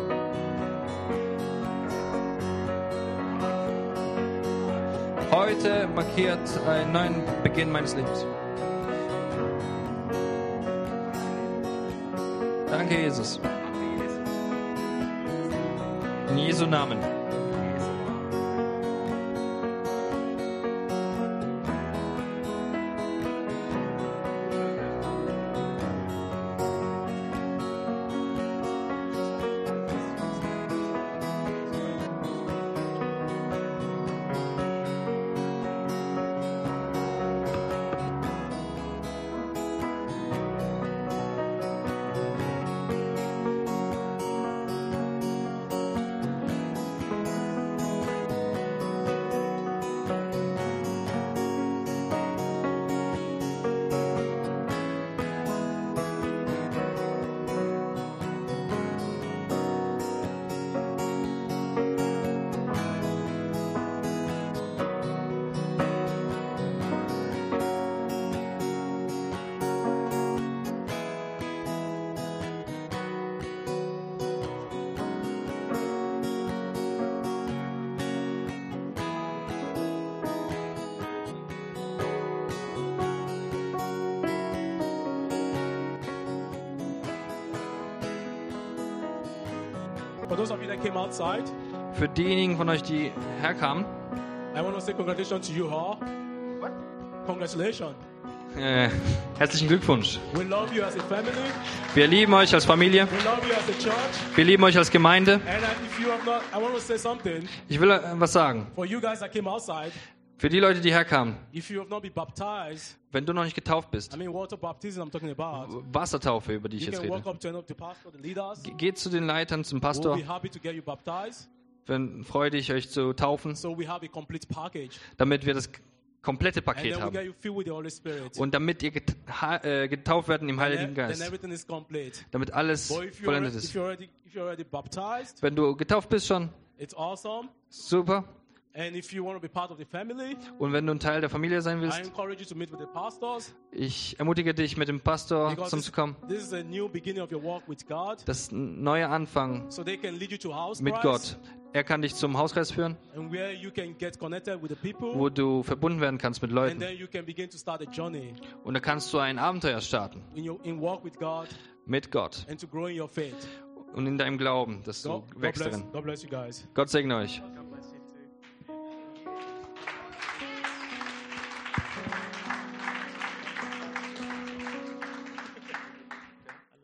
[SPEAKER 2] Heute markiert einen neuen Beginn meines Lebens. Danke, Jesus. In Jesu Namen.
[SPEAKER 1] For those of you that came outside,
[SPEAKER 2] Für diejenigen von euch, die herkamen,
[SPEAKER 1] I want to say congratulations to you all. What? Congratulations.
[SPEAKER 2] äh, herzlichen Glückwunsch.
[SPEAKER 1] We love you as a family.
[SPEAKER 2] Wir lieben euch als Familie.
[SPEAKER 1] We love you as a church.
[SPEAKER 2] Wir lieben euch als Gemeinde.
[SPEAKER 1] And uh, if you have not, I want to say something.
[SPEAKER 2] Ich will äh, was sagen.
[SPEAKER 1] For you guys that came outside,
[SPEAKER 2] Für die Leute, die herkamen,
[SPEAKER 1] if you have not been baptized,
[SPEAKER 2] wenn du noch nicht getauft bist,
[SPEAKER 1] I mean water baptism I'm talking about.
[SPEAKER 2] Wassertaufe, über die ich
[SPEAKER 1] You
[SPEAKER 2] jetzt
[SPEAKER 1] can walk
[SPEAKER 2] rede.
[SPEAKER 1] up to any of the pastor, the leaders.
[SPEAKER 2] Ge- Geht zu den Leitern, zum
[SPEAKER 1] We'll
[SPEAKER 2] Pastor.
[SPEAKER 1] be happy to get you baptized.
[SPEAKER 2] Wenn freudig euch zu taufen,
[SPEAKER 1] So we have a complete package.
[SPEAKER 2] damit wir das komplette
[SPEAKER 1] And
[SPEAKER 2] Paket
[SPEAKER 1] then we
[SPEAKER 2] haben.
[SPEAKER 1] get you filled with the Holy Spirit.
[SPEAKER 2] Und damit ihr get ha äh, getauft werden im
[SPEAKER 1] And
[SPEAKER 2] Heiligen
[SPEAKER 1] then, then
[SPEAKER 2] Geist.
[SPEAKER 1] everything is complete.
[SPEAKER 2] Damit alles
[SPEAKER 1] But if you're,
[SPEAKER 2] vollendet
[SPEAKER 1] already, if
[SPEAKER 2] ist.
[SPEAKER 1] you're already if you're already baptized,
[SPEAKER 2] Wenn du getauft bist schon,
[SPEAKER 1] it's awesome.
[SPEAKER 2] super.
[SPEAKER 1] And if you want to be part of the family,
[SPEAKER 2] Und wenn du ein Teil der Familie sein
[SPEAKER 1] I
[SPEAKER 2] willst,
[SPEAKER 1] encourage you to meet with the pastors.
[SPEAKER 2] ich ermutige dich, mit dem Pastor
[SPEAKER 1] Because this,
[SPEAKER 2] zusammenzukommen.
[SPEAKER 1] this is a new beginning of your walk with God.
[SPEAKER 2] Das ist ein neuer Anfang
[SPEAKER 1] So they can lead you to house
[SPEAKER 2] mit Gott. Er kann dich zum Hauskreis führen,
[SPEAKER 1] and where you can get connected with the people.
[SPEAKER 2] wo du verbunden werden kannst mit
[SPEAKER 1] And
[SPEAKER 2] Leuten.
[SPEAKER 1] then you can begin to start a journey
[SPEAKER 2] Und da kannst du ein Abenteuer starten
[SPEAKER 1] in your in walk with God
[SPEAKER 2] mit Gott
[SPEAKER 1] and to grow in your faith.
[SPEAKER 2] und in deinem Glauben, dass du
[SPEAKER 1] God, God,
[SPEAKER 2] wächst
[SPEAKER 1] bless,
[SPEAKER 2] darin.
[SPEAKER 1] God bless you guys.
[SPEAKER 2] Gott segne euch.